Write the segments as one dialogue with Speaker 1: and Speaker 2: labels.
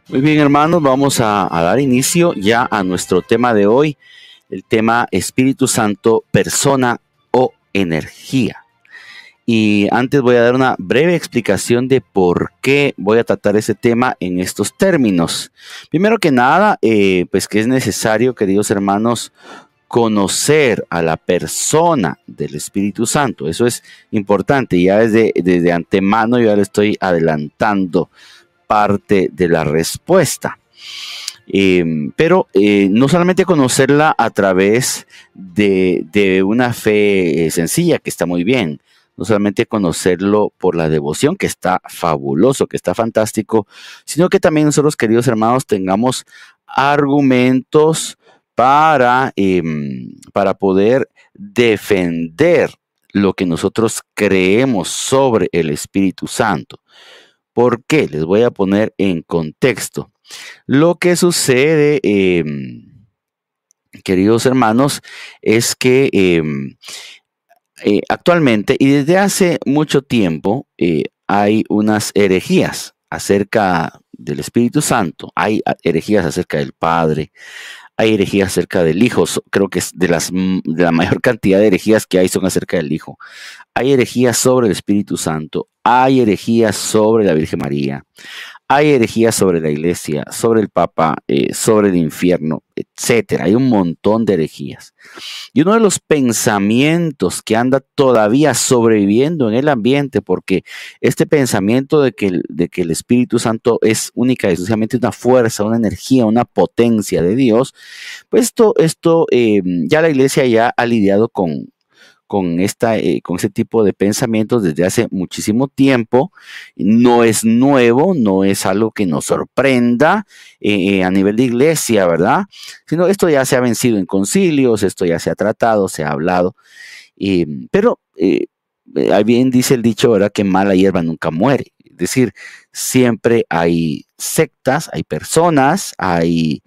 Speaker 1: Muy bien, hermanos, vamos a dar inicio ya a nuestro tema de hoy, el tema Espíritu Santo, persona o energía. Y antes voy a dar una breve explicación de por qué voy a tratar ese tema en estos términos. Primero que nada, pues que es necesario, queridos hermanos, conocer a la persona del Espíritu Santo. Eso es importante. Ya desde antemano yo ya le estoy adelantando parte de la respuesta. Pero no solamente conocerla a través de una fe sencilla, que está muy bien, no solamente conocerlo por la devoción, que está fabuloso, que está fantástico, sino que también nosotros, queridos hermanos, tengamos argumentos para poder defender lo que nosotros creemos sobre el Espíritu Santo. ¿Por qué? Les voy a poner en contexto. Lo que sucede, queridos hermanos, es que actualmente y desde hace mucho tiempo hay unas herejías acerca del Espíritu Santo, hay herejías acerca del Padre, hay herejías acerca del Hijo. Creo que es de la mayor cantidad de herejías que hay son acerca del Hijo. Hay herejías sobre el Espíritu Santo, hay herejías sobre la Virgen María, hay herejías sobre la Iglesia, sobre el Papa, sobre el infierno, etcétera. Hay un montón de herejías. Y uno de los pensamientos que anda todavía sobreviviendo en el ambiente, porque este pensamiento de que el Espíritu Santo es única y exclusivamente una fuerza, una energía, una potencia de Dios, pues esto ya la Iglesia ya ha lidiado con ese tipo de pensamientos desde hace muchísimo tiempo. No es nuevo, no es algo que nos sorprenda a nivel de iglesia, ¿verdad? Sino esto ya se ha vencido en concilios, esto ya se ha tratado, se ha hablado. Pero bien dice el dicho, ¿verdad? Que mala hierba nunca muere. Es decir, siempre hay sectas, hay personas, hay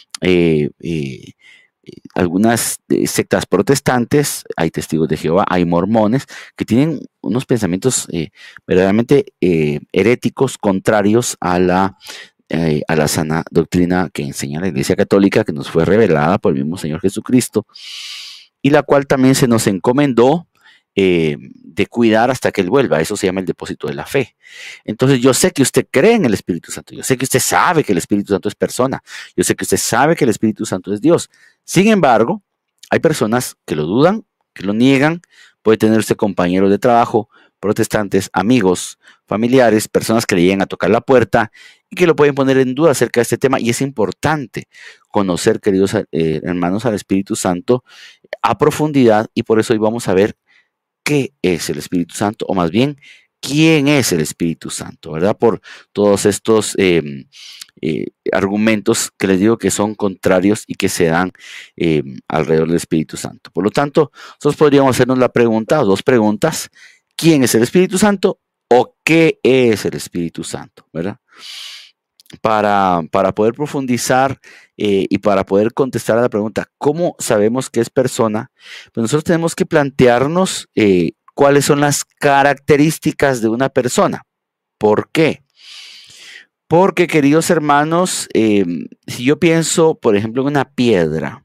Speaker 1: algunas sectas protestantes, hay testigos de Jehová, hay mormones que tienen unos pensamientos verdaderamente heréticos, contrarios a la sana doctrina que enseña la Iglesia Católica, que nos fue revelada por el mismo Señor Jesucristo, y la cual también se nos encomendó de cuidar hasta que Él vuelva. Eso se llama el depósito de la fe. Entonces yo sé que usted cree en el Espíritu Santo, yo sé que usted sabe que el Espíritu Santo es persona, yo sé que usted sabe que el Espíritu Santo es Dios. Sin embargo, hay personas que lo dudan, que lo niegan. Puede tener usted compañeros de trabajo, protestantes, amigos, familiares, personas que le llegan a tocar la puerta y que lo pueden poner en duda acerca de este tema. Y es importante conocer, queridos hermanos, al Espíritu Santo a profundidad, y por eso hoy vamos a ver qué es el Espíritu Santo, o más bien, quién es el Espíritu Santo, ¿verdad? Por todos estos argumentos que les digo que son contrarios y que se dan alrededor del Espíritu Santo. Por lo tanto, nosotros podríamos hacernos la pregunta, o dos preguntas: ¿quién es el Espíritu Santo? ¿O qué es el Espíritu Santo? ¿Verdad? Para poder profundizar y para poder contestar a la pregunta, ¿cómo sabemos que es persona? Pues nosotros tenemos que plantearnos cuáles son las características de una persona. ¿Por qué? Porque, queridos hermanos, si yo pienso, por ejemplo, en una piedra,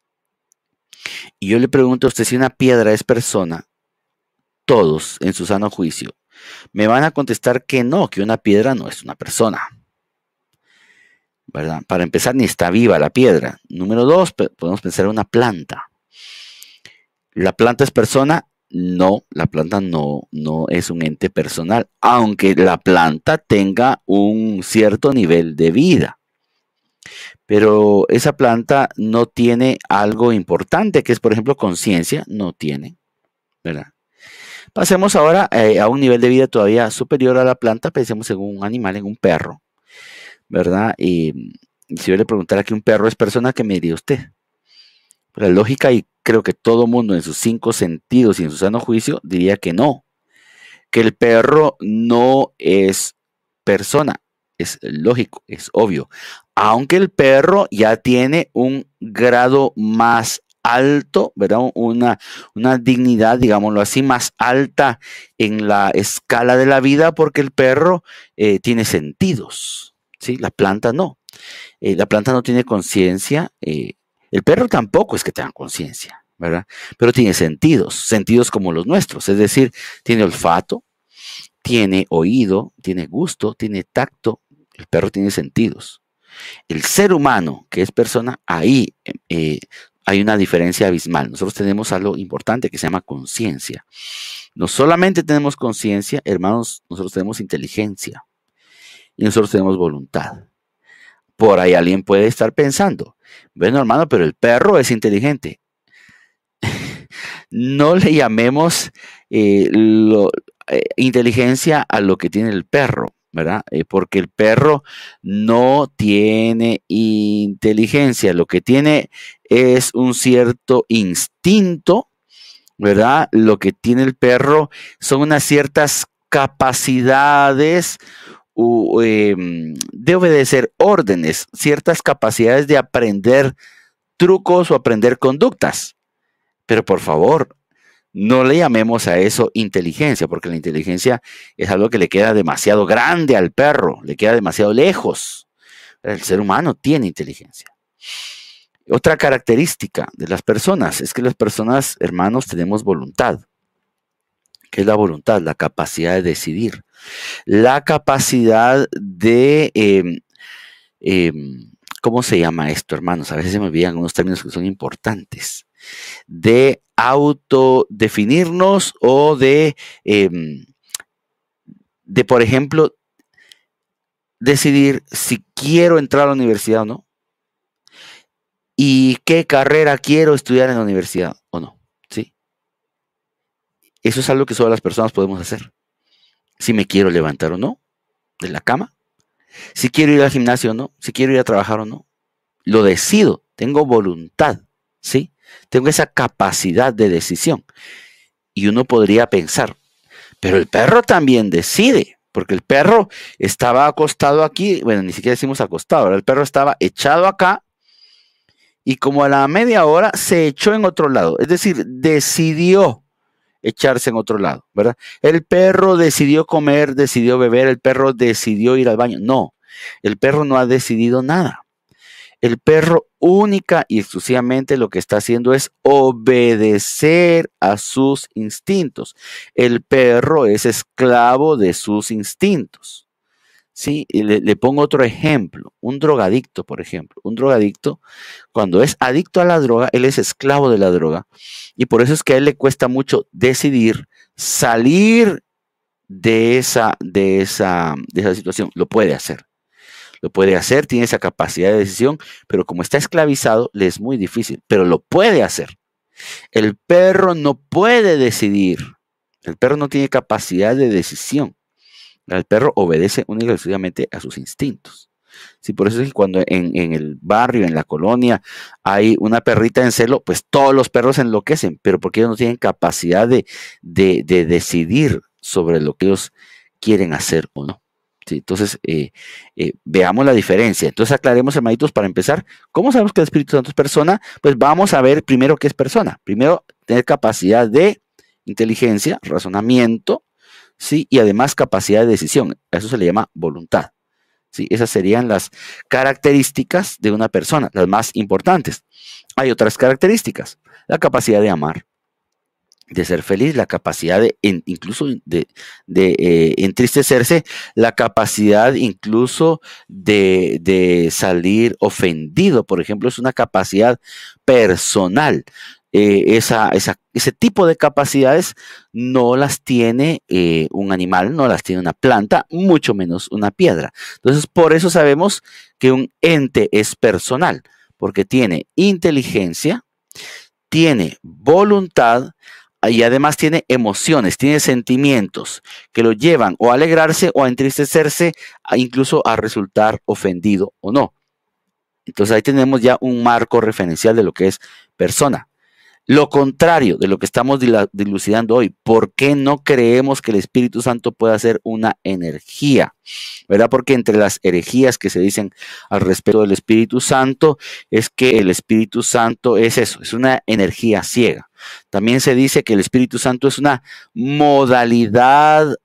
Speaker 1: y yo le pregunto a usted si una piedra es persona, todos, en su sano juicio, me van a contestar que no, que una piedra no es una persona, ¿verdad? Para empezar, ni está viva la piedra. Número dos, podemos pensar en una planta. ¿La planta es persona? No, la planta no es un ente personal, aunque la planta tenga un cierto nivel de vida. Pero esa planta no tiene algo importante, que es, por ejemplo, conciencia. No tiene, ¿verdad? Pasemos ahora a un nivel de vida todavía superior a la planta. Pensemos en un animal, en un perro, ¿verdad? Y si yo le preguntara que un perro es persona, ¿qué me diría usted? La lógica, y creo que todo mundo en sus cinco sentidos y en su sano juicio diría que no, que el perro no es persona. Es lógico, es obvio. Aunque el perro ya tiene un grado más alto, ¿verdad? Una dignidad, digámoslo así, más alta en la escala de la vida, porque el perro tiene sentidos. ¿sí? La planta no. La planta no tiene conciencia. El perro tampoco es que tenga conciencia, ¿verdad? Pero tiene sentidos, sentidos como los nuestros. Es decir, tiene olfato, tiene oído, tiene gusto, tiene tacto. El perro tiene sentidos. El ser humano, que es persona, ahí hay una diferencia abismal. Nosotros tenemos algo importante que se llama conciencia. No solamente tenemos conciencia, hermanos, nosotros tenemos inteligencia y nosotros tenemos voluntad. Por ahí alguien puede estar pensando, bueno, hermano, pero el perro es inteligente. No le llamemos inteligencia a lo que tiene el perro, ¿verdad? Porque el perro no tiene inteligencia, lo que tiene es un cierto instinto, ¿verdad? Lo que tiene el perro son unas ciertas capacidades de obedecer órdenes, ciertas capacidades de aprender trucos o aprender conductas. Pero por favor, no le llamemos a eso inteligencia, porque la inteligencia es algo que le queda demasiado grande al perro, le queda demasiado lejos. El ser humano tiene inteligencia. Otra característica de las personas es que las personas, hermanos, tenemos voluntad. ¿Qué es la voluntad? La capacidad de decidir. La capacidad de, ¿cómo se llama esto, hermanos? A veces se me olvidan unos términos que son importantes. De autodefinirnos o por ejemplo, decidir si quiero entrar a la universidad o no. Y qué carrera quiero estudiar en la universidad o no. ¿Sí? Eso es algo que solo las personas podemos hacer. Si me quiero levantar o no de la cama, si quiero ir al gimnasio o no, si quiero ir a trabajar o no, lo decido, tengo voluntad, ¿sí? Tengo esa capacidad de decisión. Y uno podría pensar, pero el perro también decide, porque el perro estaba acostado aquí, bueno, ni siquiera decimos acostado, ¿verdad? El perro estaba echado acá y como a la media hora se echó en otro lado, es decir, decidió echarse en otro lado, ¿verdad? El perro decidió comer, decidió beber, el perro decidió ir al baño. No, el perro no ha decidido nada. El perro única y exclusivamente lo que está haciendo es obedecer a sus instintos. El perro es esclavo de sus instintos. Sí, y le pongo otro ejemplo. Un drogadicto, por ejemplo. Un drogadicto, cuando es adicto a la droga, él es esclavo de la droga. Y por eso es que a él le cuesta mucho decidir salir de esa situación. Lo puede hacer. Lo puede hacer, tiene esa capacidad de decisión, pero como está esclavizado, le es muy difícil, pero lo puede hacer. El perro no puede decidir. El perro no tiene capacidad de decisión. El perro obedece únicamente y exclusivamente a sus instintos. Sí, por eso es que cuando en el barrio, en la colonia, hay una perrita en celo, pues todos los perros enloquecen, pero porque ellos no tienen capacidad de decidir sobre lo que ellos quieren hacer o no. Sí, entonces, veamos la diferencia. Entonces, aclaremos, hermanitos, para empezar, ¿cómo sabemos que el Espíritu Santo es persona? Pues vamos a ver primero qué es persona. Primero, tener capacidad de inteligencia, razonamiento, ¿sí? Y además capacidad de decisión. A eso se le llama voluntad. ¿Sí? Esas serían las características de una persona, las más importantes. Hay otras características. La capacidad de amar, de ser feliz, la capacidad de incluso de entristecerse, la capacidad incluso de salir ofendido, por ejemplo, es una capacidad personal. Ese tipo de capacidades no las tiene un animal, no las tiene una planta, mucho menos una piedra. Entonces, por eso sabemos que un ente es personal, porque tiene inteligencia, tiene voluntad, y además tiene emociones, tiene sentimientos que lo llevan o a alegrarse o a entristecerse, incluso a resultar ofendido o no. Entonces ahí tenemos ya un marco referencial de lo que es persona. Lo contrario de lo que estamos dilucidando hoy, ¿por qué no creemos que el Espíritu Santo pueda ser una energía? ¿Verdad? Porque entre las herejías que se dicen al respecto del Espíritu Santo es que el Espíritu Santo es eso, es una energía ciega. También se dice que el Espíritu Santo es una modalidad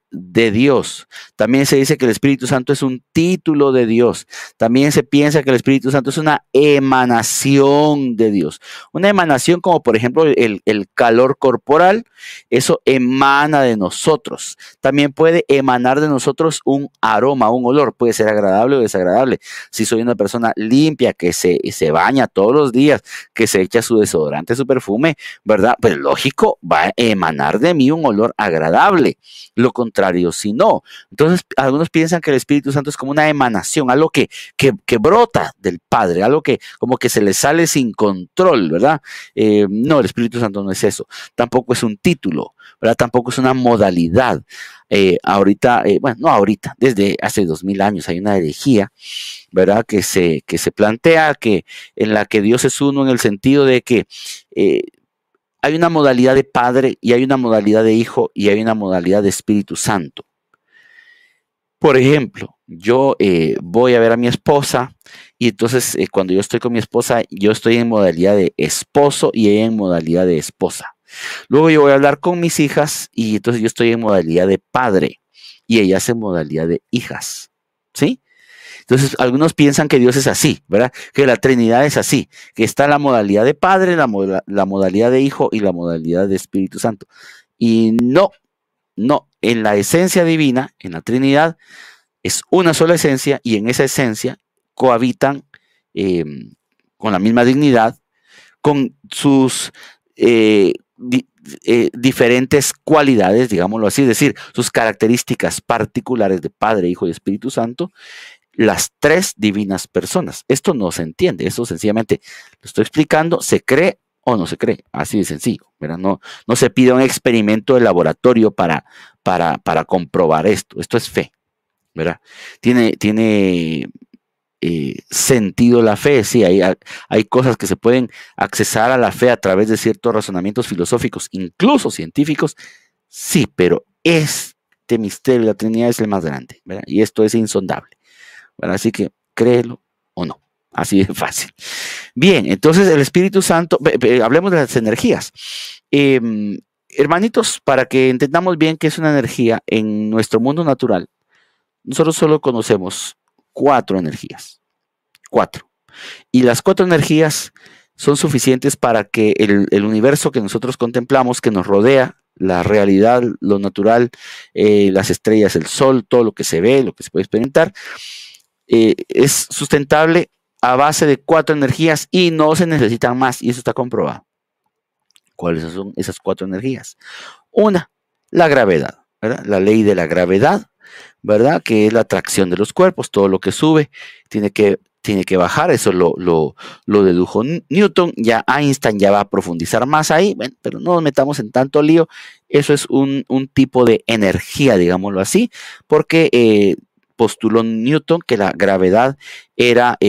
Speaker 1: de Dios. También se dice que el Espíritu Santo es un título de Dios. También se piensa que el Espíritu Santo es una emanación de Dios. Una emanación como por ejemplo el calor corporal, eso emana de nosotros. También puede emanar de nosotros un aroma, un olor. Puede ser agradable o desagradable. Si soy una persona limpia que se baña todos los días, que se echa su desodorante, su perfume, ¿verdad? Pues lógico, va a emanar de mí un olor agradable. Lo contrario, si no. Entonces, algunos piensan que el Espíritu Santo es como una emanación, algo que brota del Padre, algo que como que se le sale sin control, ¿verdad? No, el Espíritu Santo no es eso. Tampoco es un título, ¿verdad? Tampoco es una modalidad. Ahorita, bueno, no ahorita, desde hace 2000 años hay una herejía, ¿verdad? Que se plantea en la que Dios es uno en el sentido de que hay una modalidad de Padre y hay una modalidad de Hijo y hay una modalidad de Espíritu Santo. Por ejemplo, yo voy a ver a mi esposa y entonces cuando yo estoy con mi esposa, yo estoy en modalidad de esposo y ella en modalidad de esposa. Luego yo voy a hablar con mis hijas y entonces yo estoy en modalidad de padre y ellas en modalidad de hijas. ¿Sí? Entonces, algunos piensan que Dios es así, ¿verdad? Que la Trinidad es así, que está la modalidad de Padre, la modalidad de Hijo y la modalidad de Espíritu Santo. Y no, en la esencia divina, en la Trinidad, es una sola esencia y en esa esencia cohabitan con la misma dignidad, con sus diferentes cualidades, digámoslo así, es decir, sus características particulares de Padre, Hijo y Espíritu Santo, las tres divinas personas. Esto no se entiende, esto sencillamente lo estoy explicando, se cree o no se cree, así de sencillo, ¿verdad? No se pide un experimento de laboratorio para comprobar esto es fe, ¿verdad? Tiene sentido la fe, sí, hay cosas que se pueden accesar a la fe a través de ciertos razonamientos filosóficos, incluso científicos, sí, pero este misterio de la Trinidad es el más grande, ¿verdad? Y esto es insondable. Bueno, así que créelo o no, así de fácil. Bien, entonces el Espíritu Santo, hablemos de las energías. Hermanitos, para que entendamos bien qué es una energía en nuestro mundo natural, nosotros solo conocemos 4 energías, 4. Y las 4 energías son suficientes para que el universo que nosotros contemplamos, que nos rodea, la realidad, lo natural, las estrellas, el sol, todo lo que se ve, lo que se puede experimentar, es sustentable a base de 4 energías y no se necesitan más, y eso está comprobado. ¿Cuáles son esas 4 energías? Una, la gravedad, ¿verdad? La ley de la gravedad, ¿verdad? Que es la atracción de los cuerpos, todo lo que sube tiene que bajar, eso lo dedujo Newton, ya Einstein ya va a profundizar más ahí, bueno, pero no nos metamos en tanto lío, eso es un tipo de energía, digámoslo así, porque postuló Newton que la gravedad era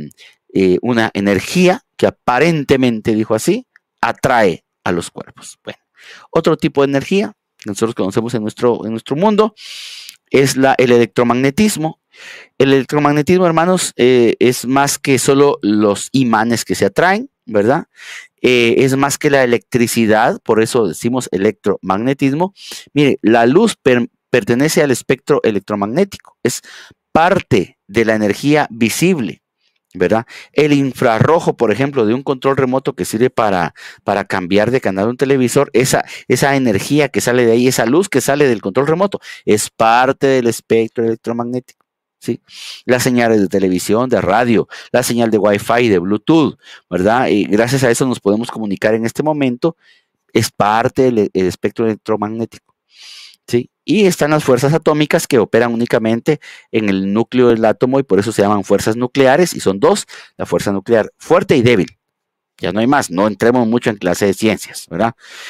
Speaker 1: una energía que aparentemente, dijo así, atrae a los cuerpos. Bueno, otro tipo de energía que nosotros conocemos en nuestro mundo es el electromagnetismo. El electromagnetismo, hermanos, es más que solo los imanes que se atraen, ¿verdad? Es más que la electricidad, por eso decimos electromagnetismo. Mire, la luz pertenece al espectro electromagnético, es parte de la energía visible, ¿verdad? El infrarrojo, por ejemplo, de un control remoto que sirve para cambiar de canal a un televisor, esa energía que sale de ahí, esa luz que sale del control remoto, es parte del espectro electromagnético. ¿Sí? Las señales de televisión, de radio, la señal de Wi-Fi, de Bluetooth, ¿verdad? Y gracias a eso nos podemos comunicar en este momento, es parte del espectro electromagnético. ¿Sí? Y están las fuerzas atómicas que operan únicamente en el núcleo del átomo y por eso se llaman fuerzas nucleares y son 2, la fuerza nuclear fuerte y débil. Ya no hay más, no entremos mucho en clase de ciencias, ¿verdad?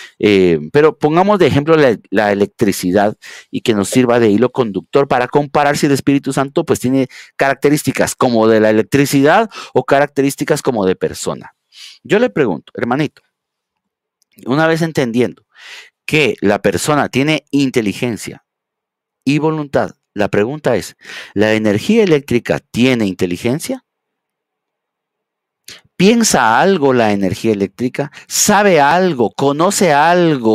Speaker 1: Pero pongamos de ejemplo la electricidad y que nos sirva de hilo conductor para comparar si el Espíritu Santo pues tiene características como de la electricidad o características como de persona. Yo le pregunto, hermanito, una vez entendiendo que la persona tiene inteligencia y voluntad, la pregunta es, ¿la energía eléctrica tiene inteligencia? ¿Piensa algo la energía eléctrica? ¿Sabe algo? ¿Conoce algo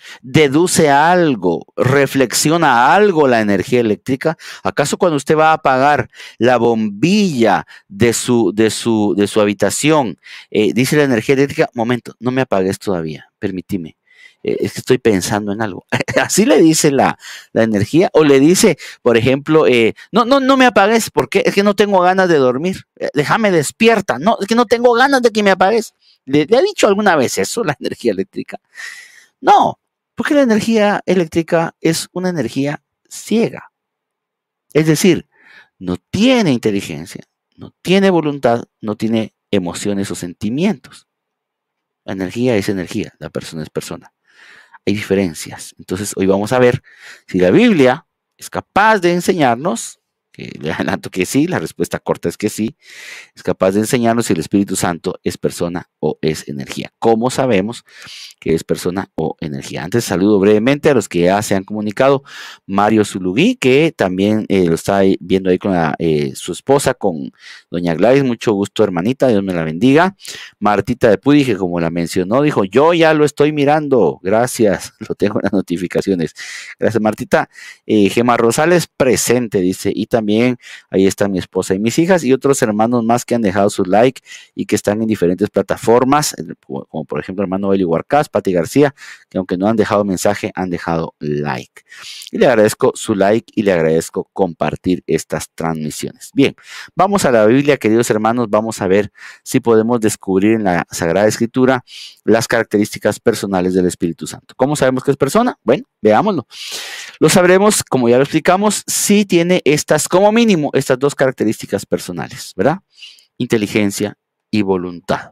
Speaker 1: deduce algo, reflexiona algo la energía eléctrica. ¿Acaso cuando usted va a apagar la bombilla de su habitación, dice la energía eléctrica, momento, no me apagues todavía, permíteme, es que estoy pensando en algo? Así le dice la energía, o le dice, por ejemplo, no me apagues, porque es que no tengo ganas de dormir, déjame despierta, no, es que no tengo ganas de que me apagues. ¿Le ha dicho alguna vez eso la energía eléctrica? No, porque la energía eléctrica es una energía ciega. Es decir, no tiene inteligencia, no tiene voluntad, no tiene emociones o sentimientos. La energía es energía, la persona es persona. Hay diferencias. Entonces, hoy vamos a ver si la Biblia es capaz de enseñarnos, que le adelanto que sí, la respuesta corta es que sí, es capaz de enseñarnos si el Espíritu Santo es persona o es energía. ¿Cómo sabemos que es persona o energía? Antes saludo brevemente a los que ya se han comunicado. Mario Zulugui, que también lo está viendo ahí con su esposa, con doña Gladys. Mucho gusto, hermanita, Dios me la bendiga. Martita de Pudi, que como la mencionó, dijo, yo ya lo estoy mirando, gracias, lo tengo en las notificaciones. Gracias, Martita. Gema Rosales, presente, dice, y también ahí están mi esposa y mis hijas y otros hermanos más que han dejado su like y que están en diferentes plataformas, como por ejemplo el hermano Eli Huarcás, Pati García, que aunque no han dejado mensaje, han dejado like. Y le agradezco su like y le agradezco compartir estas transmisiones. Bien, vamos a la Biblia, queridos hermanos, vamos a ver si podemos descubrir en la Sagrada Escritura las características personales del Espíritu Santo. ¿Cómo sabemos que es persona? Bueno, veámoslo. Lo sabremos, como ya lo explicamos, si tiene como mínimo, estas dos características personales, ¿verdad? Inteligencia y voluntad.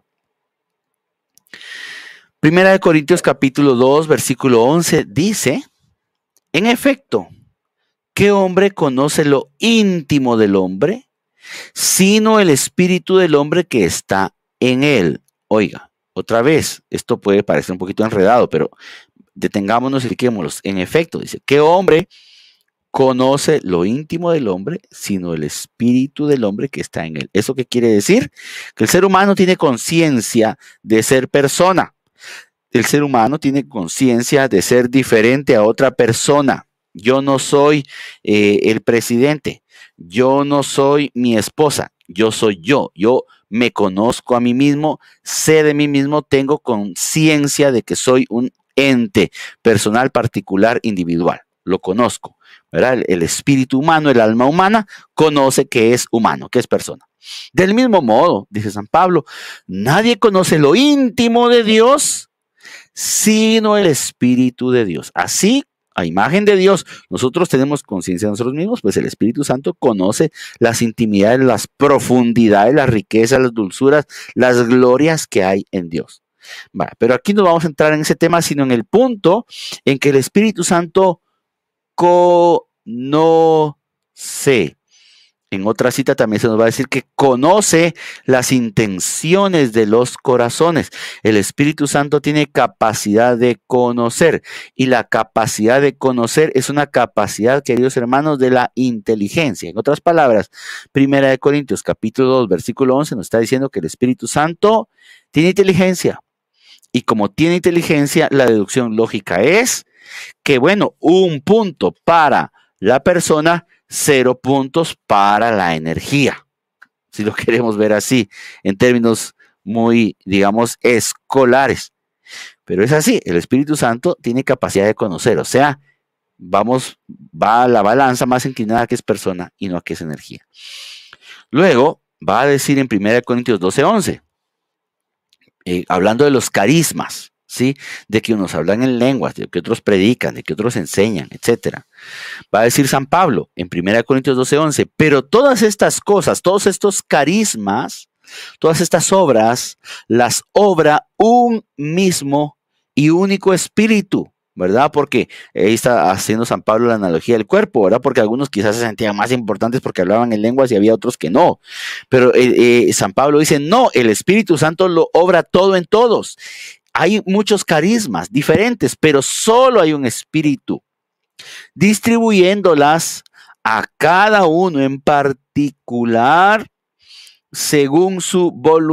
Speaker 1: Primera de Corintios capítulo 2, versículo 11 dice, en efecto, ¿qué hombre conoce lo íntimo del hombre, sino el espíritu del hombre que está en él? Oiga, otra vez, esto puede parecer un poquito enredado, pero detengámonos y expliquémoslo. En efecto, dice, ¿qué hombre conoce lo íntimo del hombre, sino el espíritu del hombre que está en él? ¿Eso qué quiere decir? Que el ser humano tiene conciencia de ser persona. El ser humano tiene conciencia de ser diferente a otra persona. Yo no soy el presidente. Yo no soy mi esposa. Yo soy yo. Yo me conozco a mí mismo, sé de mí mismo, tengo conciencia de que soy un ente personal, particular, individual. Lo conozco, ¿verdad? El espíritu humano, el alma humana, conoce que es humano, que es persona. Del mismo modo, dice San Pablo, nadie conoce lo íntimo de Dios, sino el Espíritu de Dios. Así, a imagen de Dios, nosotros tenemos conciencia de nosotros mismos, pues el Espíritu Santo conoce las intimidades, las profundidades, las riquezas, las dulzuras, las glorias que hay en Dios. Vale, pero aquí no vamos a entrar en ese tema, sino en el punto en que el Espíritu Santo conoce. En otra cita también se nos va a decir que conoce las intenciones de los corazones. El Espíritu Santo tiene capacidad de conocer, y la capacidad de conocer es una capacidad, queridos hermanos, de la inteligencia. En otras palabras, Primera de Corintios capítulo 2, versículo 11 nos está diciendo que el Espíritu Santo tiene inteligencia. Y como tiene inteligencia, la deducción lógica es que, bueno, un punto para la persona, 0 puntos para la energía, si lo queremos ver así, en términos muy, digamos, escolares. Pero es así, el Espíritu Santo tiene capacidad de conocer, o sea, va a la balanza más inclinada que es persona y no a que es energía. Luego va a decir en 1 Corintios 12:11, hablando de los carismas, ¿sí? De que unos hablan en lenguas, de que otros predican, de que otros enseñan, etc. Va a decir San Pablo en 1 Corintios 12:11, pero todas estas cosas, todos estos carismas, todas estas obras, las obra un mismo y único espíritu, ¿verdad? Porque ahí está haciendo San Pablo la analogía del cuerpo, ¿verdad? Porque algunos quizás se sentían más importantes porque hablaban en lenguas y había otros que no. Pero San Pablo dice, no, el Espíritu Santo lo obra todo en todos. Hay muchos carismas diferentes, pero solo hay un espíritu, distribuyéndolas a cada uno en particular según su voluntad.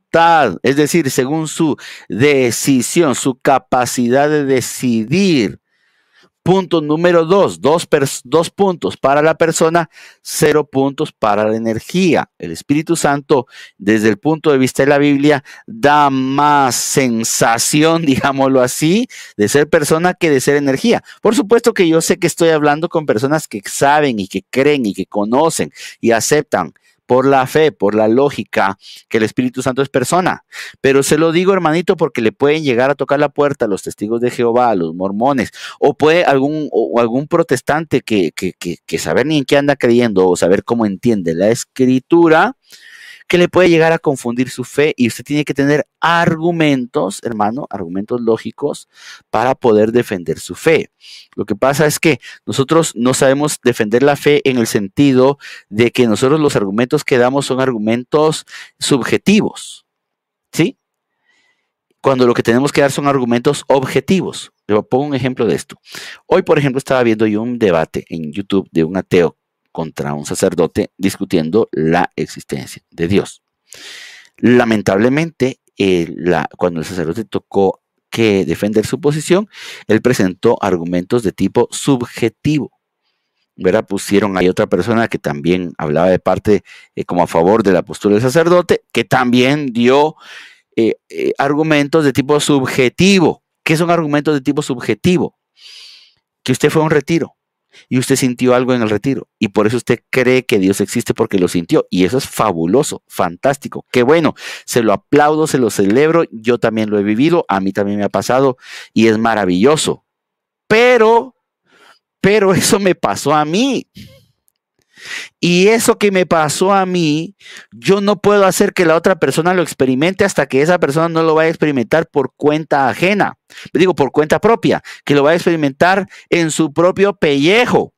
Speaker 1: voluntad, es decir, según su decisión, su capacidad de decidir. Punto número 2, dos puntos para la persona, 0 puntos para la energía. El Espíritu Santo, desde el punto de vista de la Biblia, da más sensación, digámoslo así, de ser persona que de ser energía. Por supuesto que yo sé que estoy hablando con personas que saben y que creen y que conocen y aceptan por la fe, por la lógica, que el Espíritu Santo es persona. Pero se lo digo, hermanito, porque le pueden llegar a tocar la puerta a los testigos de Jehová, a los mormones, o puede algún protestante que saber ni en qué anda creyendo o saber cómo entiende la Escritura, que le puede llegar a confundir su fe, y usted tiene que tener argumentos, hermano, argumentos lógicos para poder defender su fe. Lo que pasa es que nosotros no sabemos defender la fe en el sentido de que nosotros los argumentos que damos son argumentos subjetivos, ¿sí? Cuando lo que tenemos que dar son argumentos objetivos. Le pongo un ejemplo de esto. Hoy, por ejemplo, estaba viendo yo un debate en YouTube de un ateo contra un sacerdote discutiendo la existencia de Dios. Lamentablemente, cuando el sacerdote tocó que defender su posición, él presentó argumentos de tipo subjetivo. ¿Verdad? Pusieron ahí otra persona que también hablaba de parte como a favor de la postura del sacerdote, que también dio argumentos de tipo subjetivo. ¿Qué son argumentos de tipo subjetivo? Que usted fue a un retiro y usted sintió algo en el retiro y por eso usted cree que Dios existe porque lo sintió, y eso es fabuloso, fantástico, qué bueno, se lo aplaudo, se lo celebro, yo también lo he vivido, a mí también me ha pasado y es maravilloso, pero eso me pasó a mí. Y eso que me pasó a mí, yo no puedo hacer que la otra persona lo experimente hasta que esa persona no lo vaya a experimentar por cuenta ajena. Digo, por cuenta propia, que lo vaya a experimentar en su propio pellejo.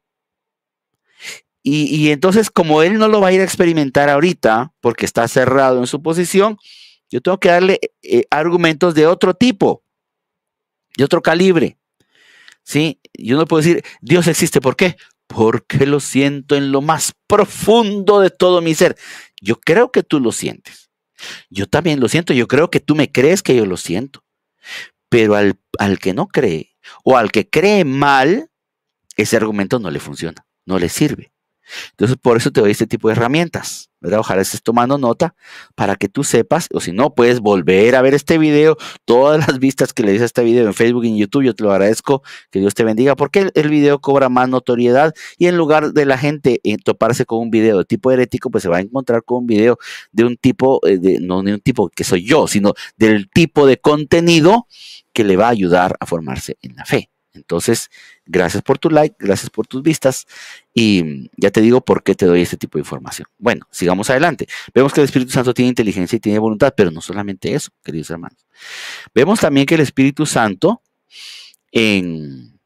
Speaker 1: Y entonces, como él no lo va a ir a experimentar ahorita, porque está cerrado en su posición, yo tengo que darle argumentos de otro tipo, de otro calibre. ¿Sí? Yo no puedo decir, Dios existe, ¿por qué? Porque lo siento en lo más profundo de todo mi ser. Yo creo que tú lo sientes. Yo también lo siento. Yo creo que tú me crees que yo lo siento. Pero al que no cree o al que cree mal, ese argumento no le funciona, no le sirve. Entonces, por eso te doy este tipo de herramientas, ¿verdad? Ojalá estés tomando nota para que tú sepas, o si no, puedes volver a ver este video, todas las vistas que le des a este video en Facebook y en YouTube, yo te lo agradezco, que Dios te bendiga, porque el video cobra más notoriedad y en lugar de la gente toparse con un video de tipo herético, pues se va a encontrar con un video de un tipo, no de un tipo que soy yo, sino del tipo de contenido que le va a ayudar a formarse en la fe. Entonces, gracias por tu like, gracias por tus vistas y ya te digo por qué te doy este tipo de información. Bueno, sigamos adelante. Vemos que el Espíritu Santo tiene inteligencia y tiene voluntad, pero no solamente eso, queridos hermanos. Vemos también que el Espíritu Santo en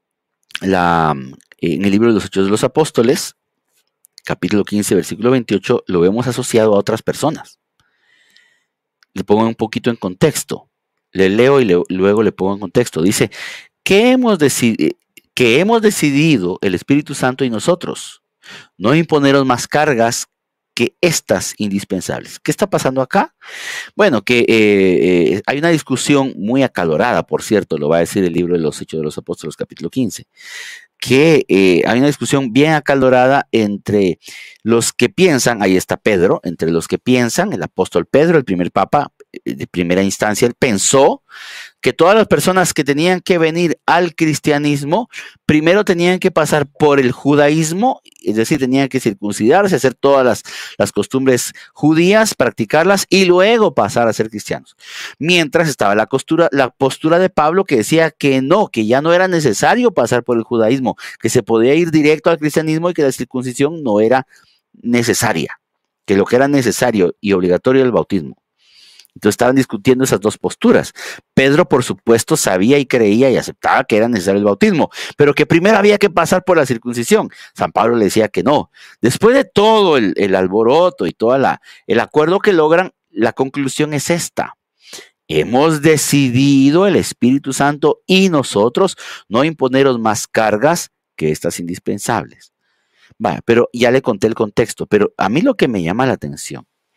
Speaker 1: el libro de los Hechos de los Apóstoles, capítulo 15, versículo 28, lo vemos asociado a otras personas. Le pongo un poquito en contexto. Le leo y luego le pongo en contexto. Dice, que hemos decidido el Espíritu Santo y nosotros, no imponeros más cargas que estas indispensables. ¿Qué está pasando acá? Bueno, que hay una discusión muy acalorada, por cierto, lo va a decir el libro de los Hechos de los Apóstoles, capítulo 15, que hay una discusión bien acalorada entre los que piensan, ahí está Pedro, entre los que piensan, el apóstol Pedro, el primer papa, de primera instancia, él pensó que todas las personas que tenían que venir al cristianismo, primero tenían que pasar por el judaísmo, es decir, tenían que circuncidarse, hacer todas las costumbres judías, practicarlas y luego pasar a ser cristianos. Mientras estaba la postura de Pablo que decía que no, que ya no era necesario pasar por el judaísmo, que se podía ir directo al cristianismo y que la circuncisión no era necesaria, que lo que era necesario y obligatorio era el bautismo. Entonces estaban discutiendo esas dos posturas. Pedro, por supuesto, sabía y creía y aceptaba que era necesario el bautismo, pero que primero había que pasar por la circuncisión. San Pablo le decía que no. Después de todo el alboroto y todo el acuerdo que logran, la conclusión es esta. Hemos decidido el Espíritu Santo y nosotros no imponeros más cargas que estas indispensables. Vaya, pero ya le conté el contexto, pero a mí lo que me llama la atención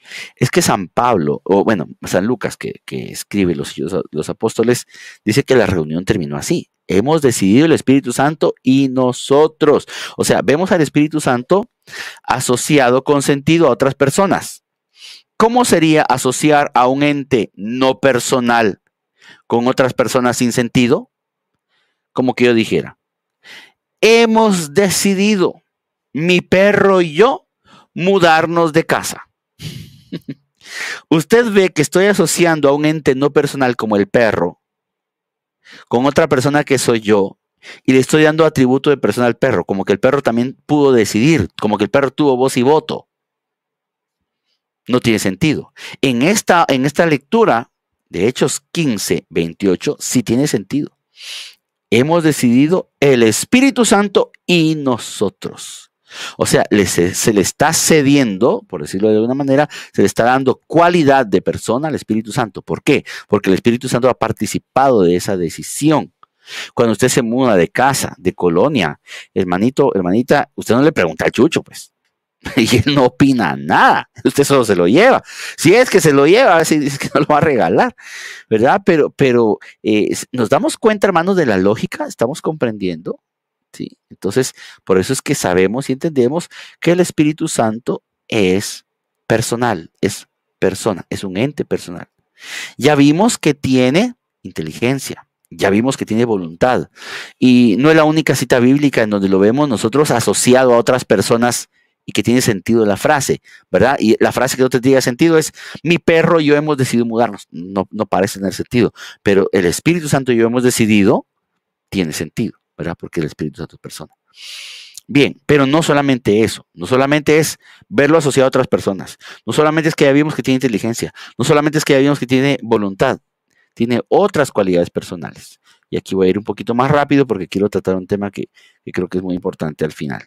Speaker 1: Es que San Pablo, o bueno, San Lucas, que escribe los apóstoles, dice que la reunión terminó así. Hemos decidido el Espíritu Santo y nosotros. O sea, vemos al Espíritu Santo asociado con sentido a otras personas. ¿Cómo sería asociar a un ente no personal con otras personas sin sentido? Como que yo dijera, hemos decidido, mi perro y yo, mudarnos de casa. Usted ve que estoy asociando a un ente no personal como el perro con otra persona que soy yo y le estoy dando atributo de persona al perro, como que el perro también pudo decidir, como que el perro tuvo voz y voto. No tiene sentido. En esta lectura de Hechos 15:28 sí tiene sentido. Hemos decidido el Espíritu Santo y nosotros. O sea, se le está cediendo, por decirlo de alguna manera, se le está dando cualidad de persona al Espíritu Santo. ¿Por qué? Porque el Espíritu Santo ha participado de esa decisión. Cuando usted se muda de casa, de colonia, hermanito, hermanita, usted no le pregunta al chucho, pues. Y él no opina nada, usted solo se lo lleva. Si es que se lo lleva, a ver si dice que no lo va a regalar, ¿verdad? Pero nos damos cuenta, hermanos, de la lógica, estamos comprendiendo, ¿sí? Entonces, por eso es que sabemos y entendemos que el Espíritu Santo es personal, es persona, es un ente personal. Ya vimos que tiene inteligencia, ya vimos que tiene voluntad, y no es la única cita bíblica en donde lo vemos nosotros asociado a otras personas y que tiene sentido la frase, ¿verdad? Y la frase que no te diga sentido es, mi perro y yo hemos decidido mudarnos. No, no parece tener sentido, pero el Espíritu Santo y yo hemos decidido, tiene sentido, ¿verdad? Porque el Espíritu Santo es persona. Bien, pero no solamente eso, no solamente es verlo asociado a otras personas, no solamente es que ya vimos que tiene inteligencia, no solamente es que ya vimos que tiene voluntad, tiene otras cualidades personales. Y aquí voy a ir un poquito más rápido porque quiero tratar un tema que creo que es muy importante al final.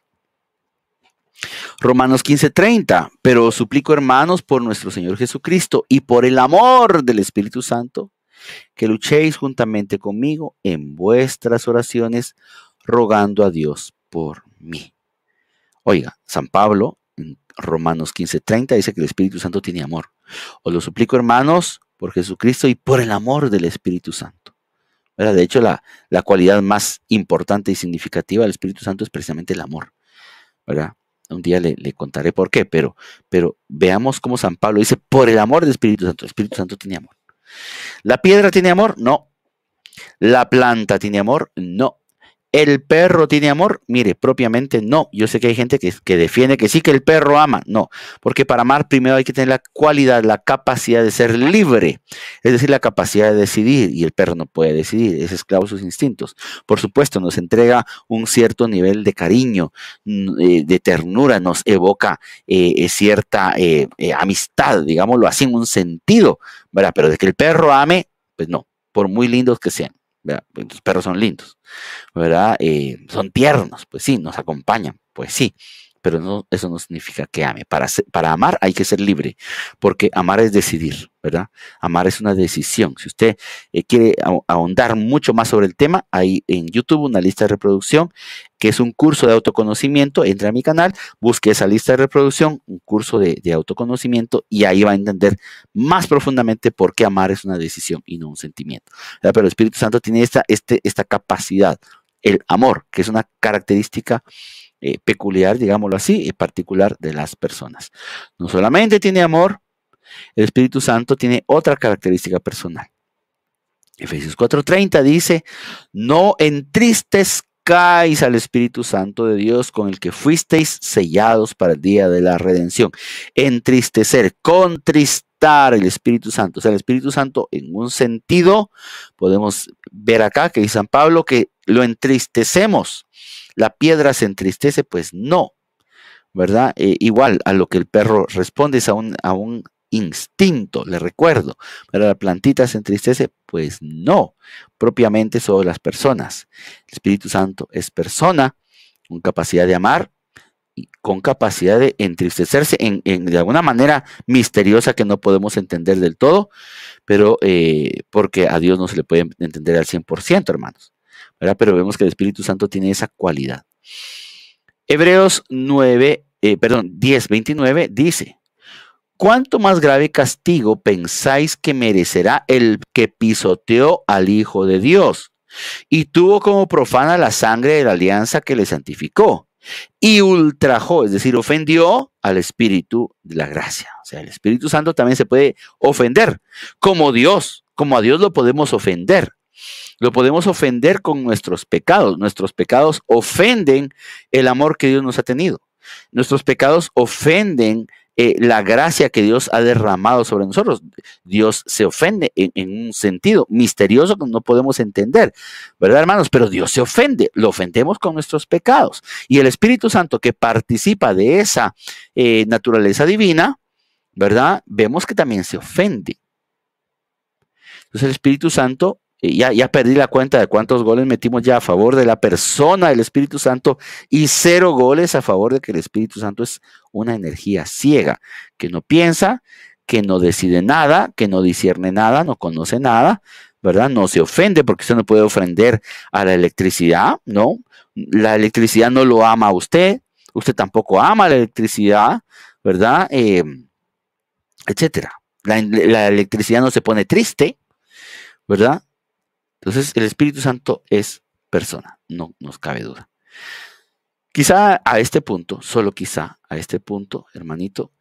Speaker 1: Romanos 15:30, pero os suplico, hermanos, por nuestro Señor Jesucristo y por el amor del Espíritu Santo, que luchéis juntamente conmigo en vuestras oraciones, rogando a Dios por mí. Oiga, San Pablo, en Romanos 15:30, dice que el Espíritu Santo tiene amor. Os lo suplico, hermanos, por Jesucristo y por el amor del Espíritu Santo. ¿Verdad? De hecho, la cualidad más importante y significativa del Espíritu Santo es precisamente el amor, ¿verdad? Un día le contaré por qué, pero veamos cómo San Pablo dice, por el amor del Espíritu Santo. El Espíritu Santo tiene amor. ¿La piedra tiene amor? No. ¿La planta tiene amor? No. ¿El perro tiene amor? Mire, propiamente no. Yo sé que hay gente que defiende que sí, que el perro ama. No, porque para amar primero hay que tener la cualidad, la capacidad de ser libre. Es decir, la capacidad de decidir. Y el perro no puede decidir, es esclavo de sus instintos. Por supuesto, nos entrega un cierto nivel de cariño, de ternura, nos evoca cierta amistad, digámoslo así, en un sentido, ¿verdad? Pero de que el perro ame, pues no, por muy lindos que sean. ¿Verdad? Los perros son lindos, ¿verdad? Son tiernos, pues sí, nos acompañan, pues sí, pero no, eso no significa que ame. Para amar hay que ser libre, porque amar es decidir, ¿verdad? Amar es una decisión. Si usted quiere ahondar mucho más sobre el tema, hay en YouTube una lista de reproducción que es un curso de autoconocimiento. Entre a mi canal, busque esa lista de reproducción, un curso de autoconocimiento, y ahí va a entender más profundamente por qué amar es una decisión y no un sentimiento, ¿verdad? Pero el Espíritu Santo tiene esta capacidad, el amor, que es una característica peculiar, digámoslo así, particular de las personas. No solamente tiene amor, el Espíritu Santo tiene otra característica personal. Efesios 4:30 dice, no entristezcáis al Espíritu Santo de Dios, con el que fuisteis sellados para el día de la redención. Entristecer, contristar el Espíritu Santo. O sea, el Espíritu Santo, en un sentido, podemos ver acá que dice San Pablo que lo entristecemos. ¿La piedra se entristece? Pues no, ¿verdad? Igual a lo que el perro responde es a un instinto, le recuerdo. ¿Pero la plantita se entristece? Pues no, propiamente sobre las personas. El Espíritu Santo es persona con capacidad de amar y con capacidad de entristecerse de alguna manera misteriosa que no podemos entender del todo, pero porque a Dios no se le puede entender al 100%, hermanos, ¿verdad? Pero vemos que el Espíritu Santo tiene esa cualidad. Hebreos 10:29 dice, ¿cuánto más grave castigo pensáis que merecerá el que pisoteó al Hijo de Dios y tuvo como profana la sangre de la alianza que le santificó y ultrajó, es decir, ofendió al Espíritu de la gracia? O sea, el Espíritu Santo también se puede ofender como Dios, como a Dios lo podemos ofender. Lo podemos ofender con nuestros pecados. Nuestros pecados ofenden el amor que Dios nos ha tenido. Nuestros pecados ofenden la gracia que Dios ha derramado sobre nosotros. Dios se ofende en un sentido misterioso que no podemos entender, ¿verdad, hermanos? Pero Dios se ofende, lo ofendemos con nuestros pecados. Y el Espíritu Santo, que participa de esa naturaleza divina, ¿verdad? Vemos que también se ofende. Entonces el Espíritu Santo, ya perdí la cuenta de cuántos goles metimos ya a favor de la persona del Espíritu Santo y 0 goles a favor de que el Espíritu Santo es una energía ciega, que no piensa, que no decide nada, que no discierne nada, no conoce nada, ¿verdad? No se ofende, porque usted no puede ofender a la electricidad, ¿no? La electricidad no lo ama a usted tampoco ama la electricidad, ¿verdad? Etcétera. La electricidad no se pone triste, ¿verdad? Entonces, el Espíritu Santo es persona, no nos cabe duda. Quizá a este punto, solo quizá a este punto, hermanito,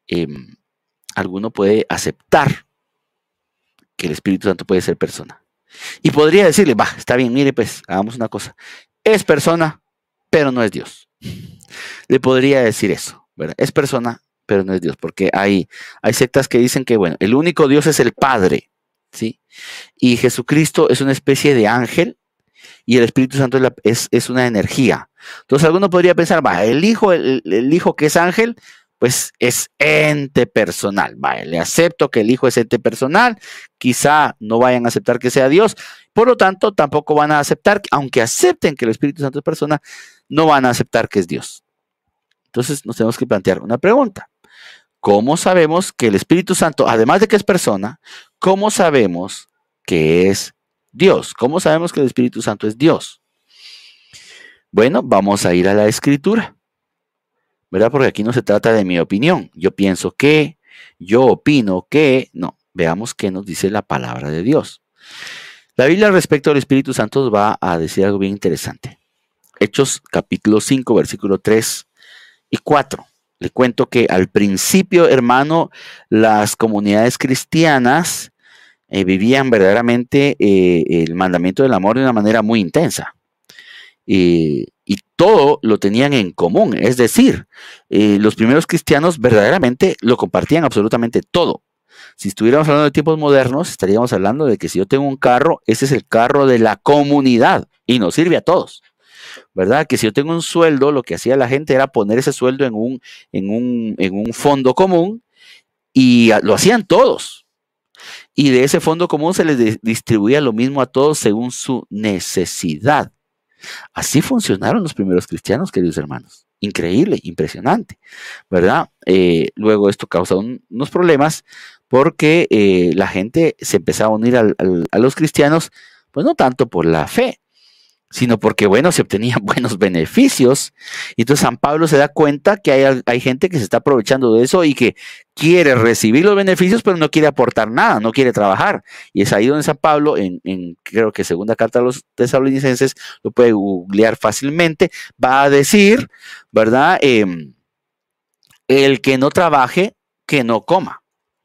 Speaker 1: alguno puede aceptar que el Espíritu Santo puede ser persona. Y podría decirle, va, está bien, mire, pues, hagamos una cosa. Es persona, pero no es Dios. Le podría decir eso, ¿verdad? Es persona, pero no es Dios, porque hay sectas que dicen que, bueno, el único Dios es el Padre, ¿sí? Y Jesucristo es una especie de ángel y el Espíritu Santo es una energía. Entonces alguno podría pensar, va, el hijo que es ángel, pues es ente personal. Va, le acepto que el hijo es ente personal, quizá no vayan a aceptar que sea Dios, por lo tanto tampoco van a aceptar, aunque acepten que el Espíritu Santo es persona, no van a aceptar que es Dios. Entonces nos tenemos que plantear una pregunta. ¿Cómo sabemos que el Espíritu Santo, además de que es persona, cómo sabemos que es Dios? ¿Cómo sabemos que el Espíritu Santo es Dios? Bueno, vamos a ir a la Escritura, ¿verdad? Porque aquí no se trata de mi opinión. Yo pienso que, yo opino que, no. Veamos qué nos dice la palabra de Dios. La Biblia respecto al Espíritu Santo nos va a decir algo bien interesante. Hechos capítulo 5, versículo 3 y 4. Le cuento que al principio, hermano, las comunidades cristianas vivían verdaderamente el mandamiento del amor de una manera muy intensa. Y todo lo tenían en común. Es decir, los primeros cristianos verdaderamente lo compartían absolutamente todo. Si estuviéramos hablando de tiempos modernos, estaríamos hablando de que si yo tengo un carro, ese es el carro de la comunidad y nos sirve a todos. ¿Verdad? Que si yo tengo un sueldo, lo que hacía la gente era poner ese sueldo en un fondo común y lo hacían todos. Y de ese fondo común se les distribuía lo mismo a todos según su necesidad. Así funcionaron los primeros cristianos, queridos hermanos. Increíble, impresionante, ¿verdad? Luego esto causa unos problemas porque la gente se empezaba a unir a los cristianos, pues no tanto por la fe, sino porque, bueno, se obtenían buenos beneficios. Y entonces San Pablo se da cuenta que hay gente que se está aprovechando de eso y que quiere recibir los beneficios, pero no quiere aportar nada, no quiere trabajar. Y es ahí donde San Pablo, creo que segunda carta a los tesalonicenses, lo puede googlear fácilmente, va a decir, ¿verdad? El que no trabaje, que no coma.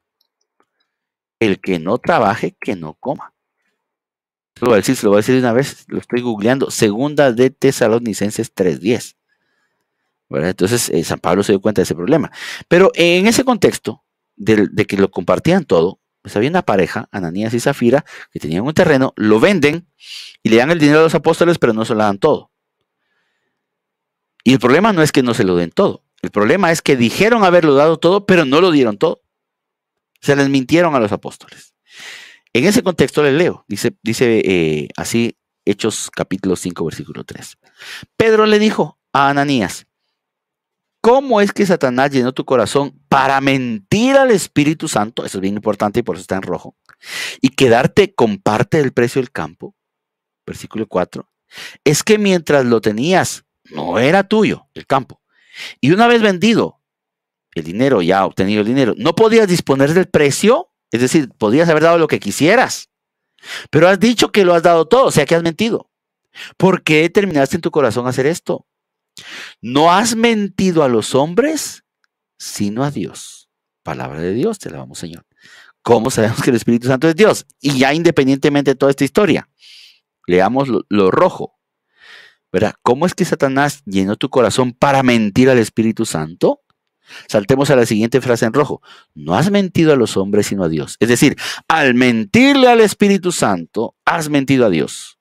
Speaker 1: El que no trabaje, que no coma. Se lo voy a decir de una vez, lo estoy googleando, segunda de Tesalonicenses 3:10. ¿Verdad? Entonces, San Pablo se dio cuenta de ese problema. Pero en ese contexto de que lo compartían todo, pues había una pareja, Ananías y Zafira, que tenían un terreno, lo venden y le dan el dinero a los apóstoles, pero no se lo dan todo. Y el problema no es que no se lo den todo. El problema es que dijeron haberlo dado todo, pero no lo dieron todo. Se les mintieron a los apóstoles. En ese contexto les leo, dice así Hechos capítulo 5, versículo 3. Pedro le dijo a Ananías, ¿cómo es que Satanás llenó tu corazón para mentir al Espíritu Santo? Eso es bien importante y por eso está en rojo. Y quedarte con parte del precio del campo. Versículo 4. Es que mientras lo tenías, no era tuyo el campo. Y una vez vendido, el dinero, ya obtenido el dinero, no podías disponer del precio, es decir, podías haber dado lo que quisieras, pero has dicho que lo has dado todo, o sea que has mentido. ¿Por qué determinaste en tu corazón hacer esto? No has mentido a los hombres, sino a Dios. Palabra de Dios, te la vamos, Señor. ¿Cómo sabemos que el Espíritu Santo es Dios? Y ya independientemente de toda esta historia, leamos lo rojo. ¿Verdad? ¿Cómo es que Satanás llenó tu corazón para mentir al Espíritu Santo? Saltemos a la siguiente frase en rojo. No has mentido a los hombres, sino a Dios. Es decir, al mentirle al Espíritu Santo, has mentido a Dios.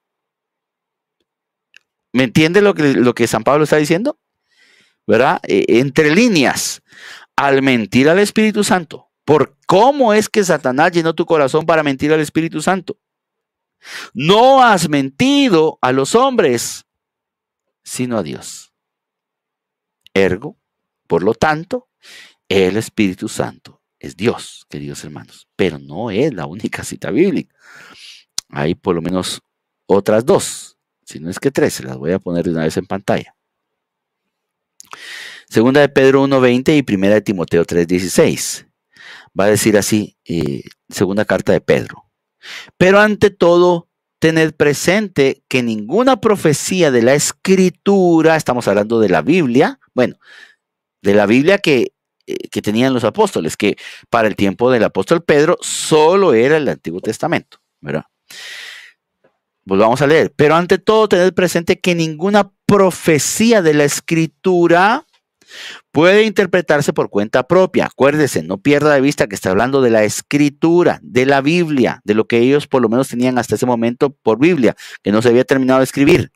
Speaker 1: ¿Me entiende lo que San Pablo está diciendo? ¿Verdad? Entre líneas, al mentir al Espíritu Santo. ¿Por cómo es que Satanás llenó tu corazón para mentir al Espíritu Santo? No has mentido a los hombres, sino a Dios. Ergo, por lo tanto, el Espíritu Santo es Dios, queridos hermanos, pero no es la única cita bíblica. Hay por lo menos otras dos, si no es que tres, se las voy a poner de una vez en pantalla. Segunda de Pedro 1:20 y primera de Timoteo 3:16. Va a decir así, segunda carta de Pedro. Pero ante todo, tened presente que ninguna profecía de la Escritura, estamos hablando de la Biblia, bueno, de la Biblia que tenían los apóstoles, que para el tiempo del apóstol Pedro solo era el Antiguo Testamento, ¿verdad? Volvamos a leer. Pero ante todo, tened presente que ninguna profecía de la Escritura puede interpretarse por cuenta propia. Acuérdese, no pierda de vista que está hablando de la Escritura, de la Biblia, de lo que ellos por lo menos tenían hasta ese momento por Biblia, que no se había terminado de escribir.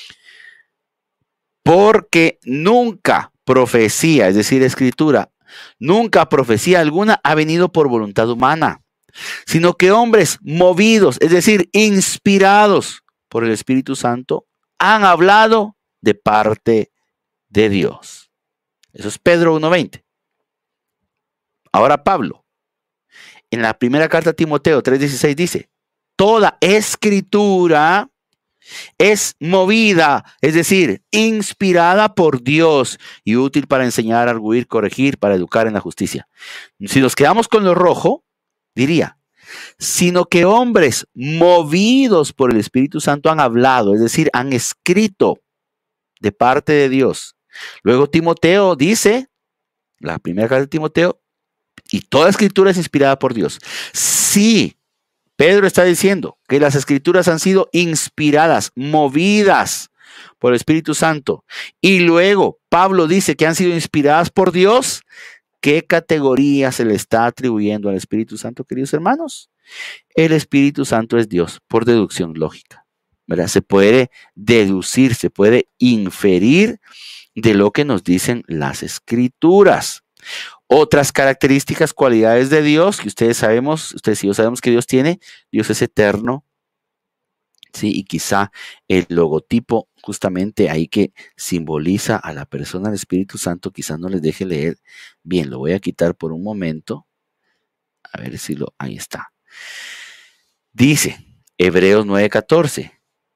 Speaker 1: Porque nunca profecía, es decir, Escritura, nunca profecía alguna ha venido por voluntad humana, sino que hombres movidos, es decir, inspirados por el Espíritu Santo, han hablado de parte de Dios. Eso es Pedro 1:20. Ahora Pablo, en la primera carta a Timoteo 3:16 dice, toda escritura es movida, es decir, inspirada por Dios y útil para enseñar, arguir, corregir, para educar en la justicia. Si nos quedamos con lo rojo, diría, sino que hombres movidos por el Espíritu Santo han hablado, es decir, han escrito de parte de Dios. Luego Timoteo dice, la primera carta de Timoteo, y toda escritura es inspirada por Dios. Sí, Pedro está diciendo que las escrituras han sido inspiradas, movidas por el Espíritu Santo. Y luego Pablo dice que han sido inspiradas por Dios. ¿Qué categoría se le está atribuyendo al Espíritu Santo, queridos hermanos? El Espíritu Santo es Dios por deducción lógica, ¿verdad? Se puede deducir, se puede inferir de lo que nos dicen las escrituras. Otras características, cualidades de Dios que ustedes y yo sabemos que Dios tiene. Dios es eterno, ¿sí? Y quizá el logotipo justamente ahí que simboliza a la persona del Espíritu Santo, quizá no les deje leer bien. Lo voy a quitar por un momento. A ver si ahí está. Dice Hebreos 9:14.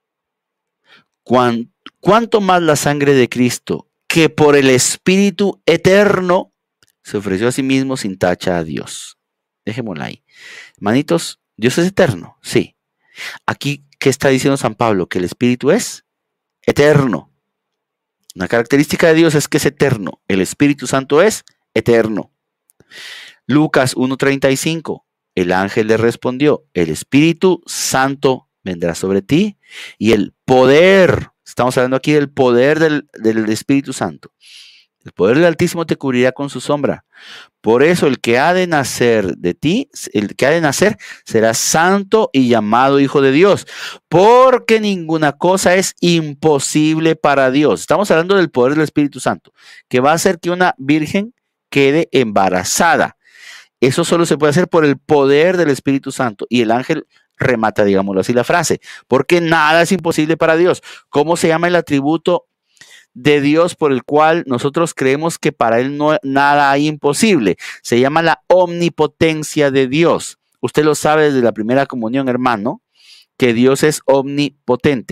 Speaker 1: ¿Cuánto más la sangre de Cristo, que por el Espíritu eterno se ofreció a sí mismo sin tacha a Dios? Dejémosla ahí. Hermanitos, ¿Dios es eterno? Sí. Aquí, ¿qué está diciendo San Pablo? Que el Espíritu es eterno. Una característica de Dios es que es eterno. El Espíritu Santo es eterno. Lucas 1:35. El ángel le respondió, el Espíritu Santo vendrá sobre ti y el poder, estamos hablando aquí del poder del Espíritu Santo. El poder del Altísimo te cubrirá con su sombra. Por eso el que ha de nacer de ti, el que ha de nacer, será santo y llamado Hijo de Dios. Porque ninguna cosa es imposible para Dios. Estamos hablando del poder del Espíritu Santo, que va a hacer que una virgen quede embarazada. Eso solo se puede hacer por el poder del Espíritu Santo. Y el ángel remata, digámoslo así, la frase. Porque nada es imposible para Dios. ¿Cómo se llama el atributo de Dios por el cual nosotros creemos que para Él no nada hay imposible? Se llama la omnipotencia de Dios. Usted lo sabe desde la primera comunión, hermano, que Dios es omnipotente.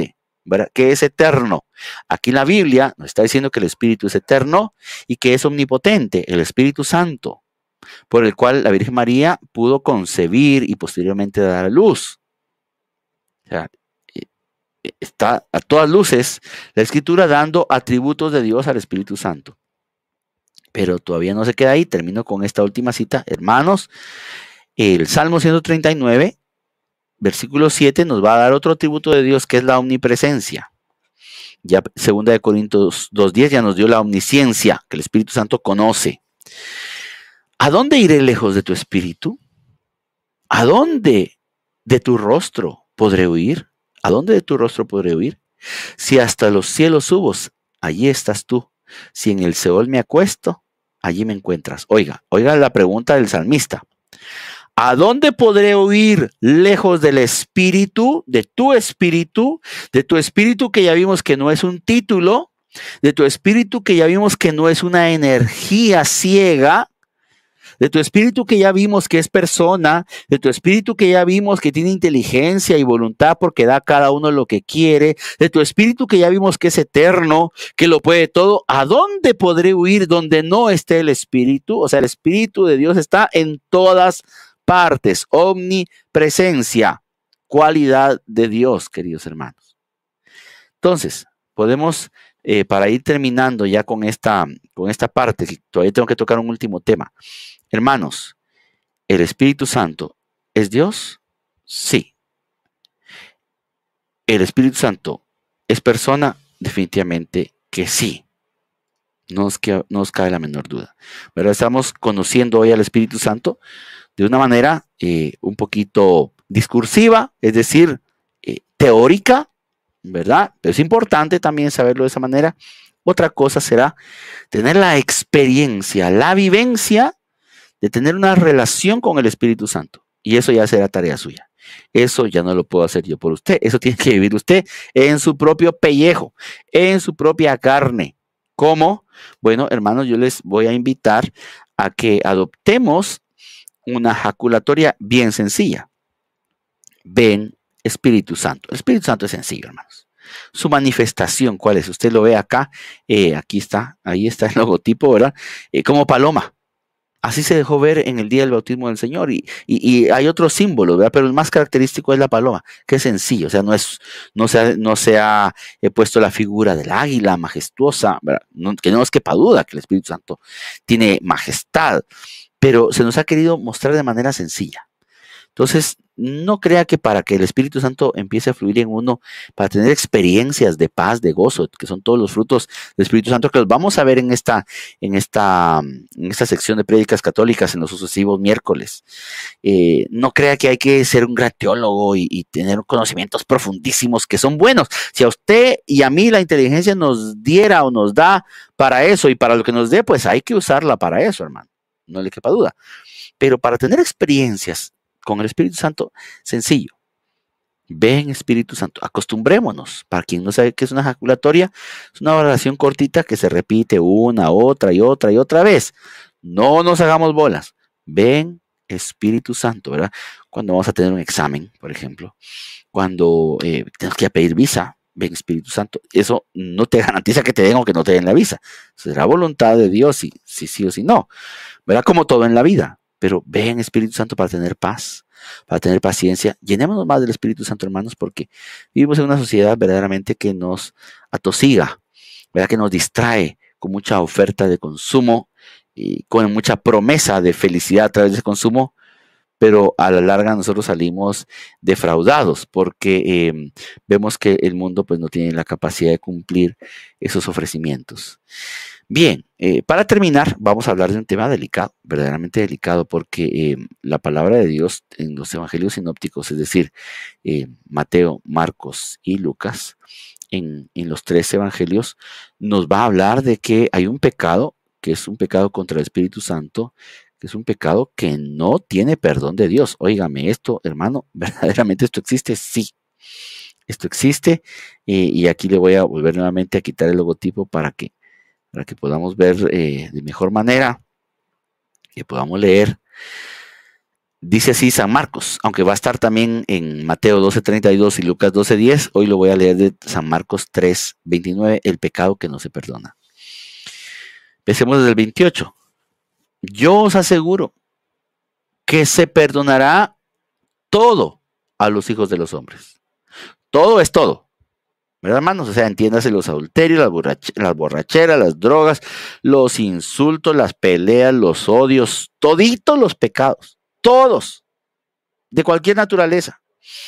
Speaker 1: ¿verdad? Que es eterno. Aquí en la Biblia nos está diciendo que el Espíritu es eterno y que es omnipotente, el Espíritu Santo, por el cual la Virgen María pudo concebir y posteriormente dar a luz. O sea, está a todas luces la Escritura dando atributos de Dios al Espíritu Santo. Pero todavía no se queda ahí, termino con esta última cita. Hermanos, el Salmo 139, versículo 7, nos va a dar otro atributo de Dios que es la omnipresencia. Ya 2 Corintios 2:10 ya nos dio la omnisciencia, que el Espíritu Santo conoce. ¿A dónde iré lejos de tu Espíritu? ¿A dónde de tu rostro podré huir? ¿A dónde de tu rostro podré huir? Si hasta los cielos subo, allí estás tú. Si en el Seol me acuesto, allí me encuentras. Oiga la pregunta del salmista. ¿A dónde podré huir lejos del Espíritu, de tu Espíritu que ya vimos que no es un título, de tu Espíritu que ya vimos que no es una energía ciega, de tu Espíritu que ya vimos que es persona, de tu Espíritu que ya vimos que tiene inteligencia y voluntad porque da a cada uno lo que quiere, de tu Espíritu que ya vimos que es eterno, que lo puede todo? ¿A dónde podré huir donde no esté el Espíritu? O sea, el Espíritu de Dios está en todas partes, omnipresencia, cualidad de Dios, queridos hermanos. Entonces, podemos, para ir terminando ya con esta parte, que todavía tengo que tocar un último tema. Hermanos, ¿el Espíritu Santo es Dios? Sí. ¿El Espíritu Santo es persona? Definitivamente que sí. No os cabe la menor duda. Pero estamos conociendo hoy al Espíritu Santo de una manera un poquito discursiva, es decir, teórica, ¿verdad? Pero es importante también saberlo de esa manera. Otra cosa será tener la experiencia, la vivencia de tener una relación con el Espíritu Santo. Y eso ya será tarea suya. Eso ya no lo puedo hacer yo por usted. Eso tiene que vivir usted en su propio pellejo, en su propia carne. ¿Cómo? Bueno, hermanos, yo les voy a invitar a que adoptemos una jaculatoria bien sencilla. Ven, Espíritu Santo. El Espíritu Santo es sencillo, hermanos. Su manifestación, ¿cuál es? Usted lo ve acá, aquí está, ahí está el logotipo, ¿verdad? Como paloma. Así se dejó ver en el día del bautismo del Señor y hay otros símbolos, ¿verdad? Pero el más característico es la paloma, que es sencillo, o sea, no se ha puesto la figura del águila majestuosa, ¿verdad? Que no nos quepa duda que el Espíritu Santo tiene majestad, pero se nos ha querido mostrar de manera sencilla. Entonces, no crea que para que el Espíritu Santo empiece a fluir en uno, para tener experiencias de paz, de gozo, que son todos los frutos del Espíritu Santo, que los vamos a ver en esta sección de prédicas católicas en los sucesivos miércoles. No crea que hay que ser un gran teólogo y tener conocimientos profundísimos que son buenos. Si a usted y a mí la inteligencia nos diera o nos da para eso y para lo que nos dé, pues hay que usarla para eso, hermano. No le quepa duda. Pero para tener experiencias con el Espíritu Santo, sencillo. Ven, Espíritu Santo, acostumbrémonos. Para quien no sabe qué es una jaculatoria, es una oración cortita que se repite una, otra y otra y otra vez. No nos hagamos bolas. Ven, Espíritu Santo, ¿verdad? Cuando vamos a tener un examen, por ejemplo, cuando tenemos que ir a pedir visa, ven, Espíritu Santo. Eso no te garantiza que te den o que no te den la visa. Será voluntad de Dios si sí o si no, ¿verdad? Como todo en la vida. Pero ven, Espíritu Santo, para tener paz, para tener paciencia. Llenémonos más del Espíritu Santo, hermanos, porque vivimos en una sociedad verdaderamente que nos atosiga, ¿verdad? Que nos distrae con mucha oferta de consumo y con mucha promesa de felicidad a través del consumo, pero a la larga nosotros salimos defraudados porque vemos que el mundo pues no tiene la capacidad de cumplir esos ofrecimientos. Bien, para terminar, vamos a hablar de un tema delicado, verdaderamente delicado, porque la palabra de Dios en los evangelios sinópticos, es decir, Mateo, Marcos y Lucas, en los tres evangelios, nos va a hablar de que hay un pecado, que es un pecado contra el Espíritu Santo, que es un pecado que no tiene perdón de Dios. Óigame esto, hermano, verdaderamente esto existe, sí. Esto existe, y aquí le voy a volver nuevamente a quitar el logotipo para que podamos ver de mejor manera, que podamos leer. Dice así San Marcos, aunque va a estar también en Mateo 12:32 y Lucas 12:10. Hoy lo voy a leer de San Marcos 3:29, el pecado que no se perdona. Empecemos desde el 28. Yo os aseguro que se perdonará todo a los hijos de los hombres. Todo es todo, ¿verdad, hermanos? O sea, entiéndase los adulterios, las borracheras, las drogas, los insultos, las peleas, los odios, toditos los pecados, todos, de cualquier naturaleza,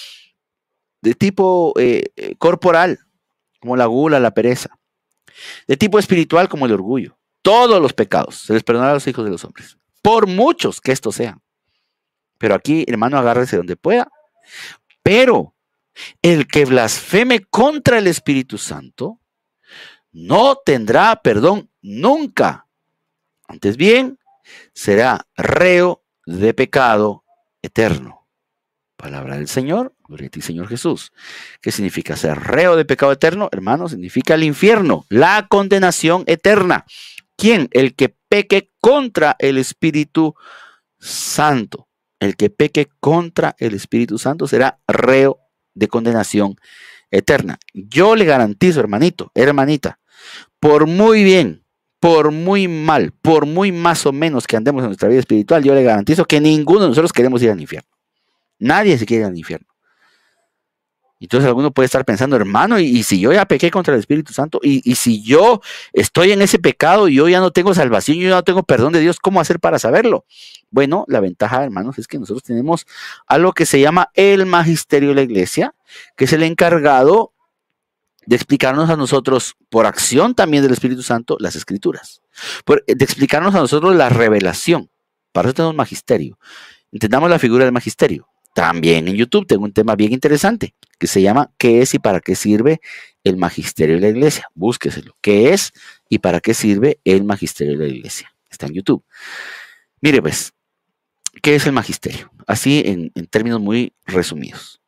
Speaker 1: de tipo corporal, como la gula, la pereza, de tipo espiritual, como el orgullo. Todos los pecados se les perdonará a los hijos de los hombres, por muchos que estos sean. Pero aquí, hermano, agárrese donde pueda. Pero el que blasfeme contra el Espíritu Santo no tendrá perdón nunca. Antes bien, será reo de pecado eterno. Palabra del Señor, gloria a ti, Señor Jesús. ¿Qué significa ser reo de pecado eterno? Hermano, significa el infierno, la condenación eterna. ¿Quién? El que peque contra el Espíritu Santo. El que peque contra el Espíritu Santo será reo de condenación eterna. Yo le garantizo, hermanito, hermanita, por muy bien, por muy mal, por muy más o menos que andemos en nuestra vida espiritual, yo le garantizo que ninguno de nosotros queremos ir al infierno. Nadie se quiere ir al infierno. Entonces alguno puede estar pensando, hermano, y si yo ya pequé contra el Espíritu Santo, y si yo estoy en ese pecado y yo ya no tengo salvación, yo ya no tengo perdón de Dios, ¿cómo hacer para saberlo? Bueno, la ventaja, hermanos, es que nosotros tenemos algo que se llama el magisterio de la iglesia, que es el encargado de explicarnos a nosotros, por acción también del Espíritu Santo, las Escrituras, de explicarnos a nosotros la revelación. Para eso tenemos magisterio. Entendamos la figura del magisterio. También en YouTube tengo un tema bien interesante que se llama ¿qué es y para qué sirve el magisterio de la iglesia? Búsqueselo. ¿Qué es y para qué sirve el magisterio de la iglesia? Está en YouTube. Mire pues, ¿qué es el magisterio? Así en términos muy resumidos.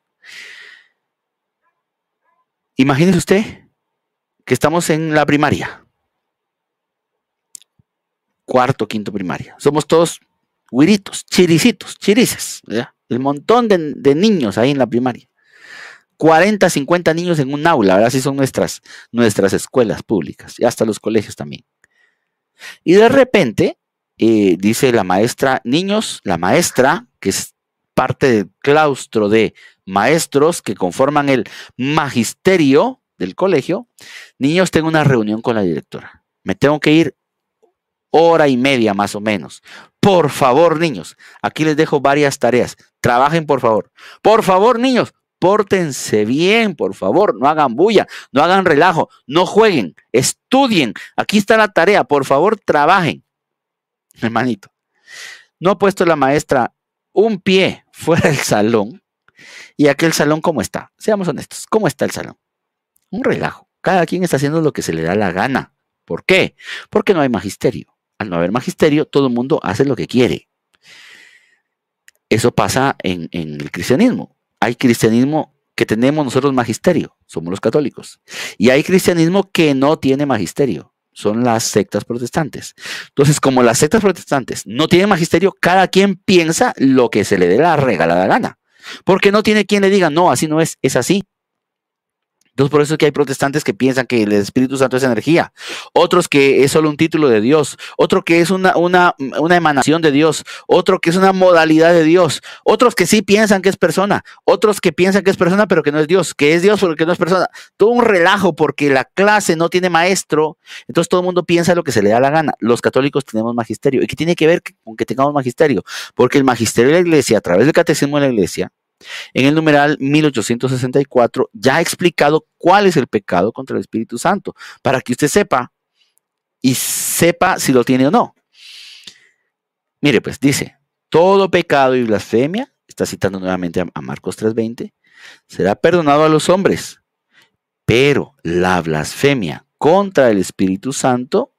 Speaker 1: Imagínese usted que estamos en la primaria. Cuarto, quinto primaria. Somos todos güiritos, chiricitos, chirices, ¿verdad? El montón de niños ahí en la primaria. 40, 50 niños en un aula, ¿verdad? Así son nuestras escuelas públicas y hasta los colegios también. Y de repente, dice la maestra, niños, la maestra, que es parte del claustro de maestros que conforman el magisterio del colegio, niños, tengo una reunión con la directora. Me tengo que ir 1 hora y media más o menos. Por favor, niños, aquí les dejo varias tareas. Trabajen, por favor. Por favor, niños, pórtense bien, por favor. No hagan bulla, no hagan relajo, no jueguen, estudien. Aquí está la tarea, por favor, trabajen. Hermanito, no ha puesto la maestra un pie fuera del salón. ¿Y aquel salón cómo está? Seamos honestos, ¿cómo está el salón? Un relajo. Cada quien está haciendo lo que se le da la gana. ¿Por qué? Porque no hay magisterio. Al no haber magisterio, todo el mundo hace lo que quiere. Eso pasa en el cristianismo. Hay cristianismo que tenemos nosotros magisterio, somos los católicos. Y hay cristianismo que no tiene magisterio, son las sectas protestantes. Entonces, como las sectas protestantes no tienen magisterio, cada quien piensa lo que se le dé la regalada gana. Porque no tiene quien le diga, no, así no es, es así. Entonces, por eso es que hay protestantes que piensan que el Espíritu Santo es energía, otros que es solo un título de Dios, otro que es una emanación de Dios, otro que es una modalidad de Dios, otros que sí piensan que es persona, otros que piensan que es persona pero que no es Dios, que es Dios pero que no es persona. Todo un relajo porque la clase no tiene maestro, entonces todo el mundo piensa lo que se le da la gana. Los católicos tenemos magisterio. ¿Y qué tiene que ver con que tengamos magisterio? Porque el magisterio de la iglesia, a través del catecismo de la iglesia, en el numeral 1864 ya ha explicado cuál es el pecado contra el Espíritu Santo, para que usted sepa y sepa si lo tiene o no. Mire, pues dice, todo pecado y blasfemia, está citando nuevamente a Marcos 3:20, será perdonado a los hombres, pero la blasfemia contra el Espíritu Santo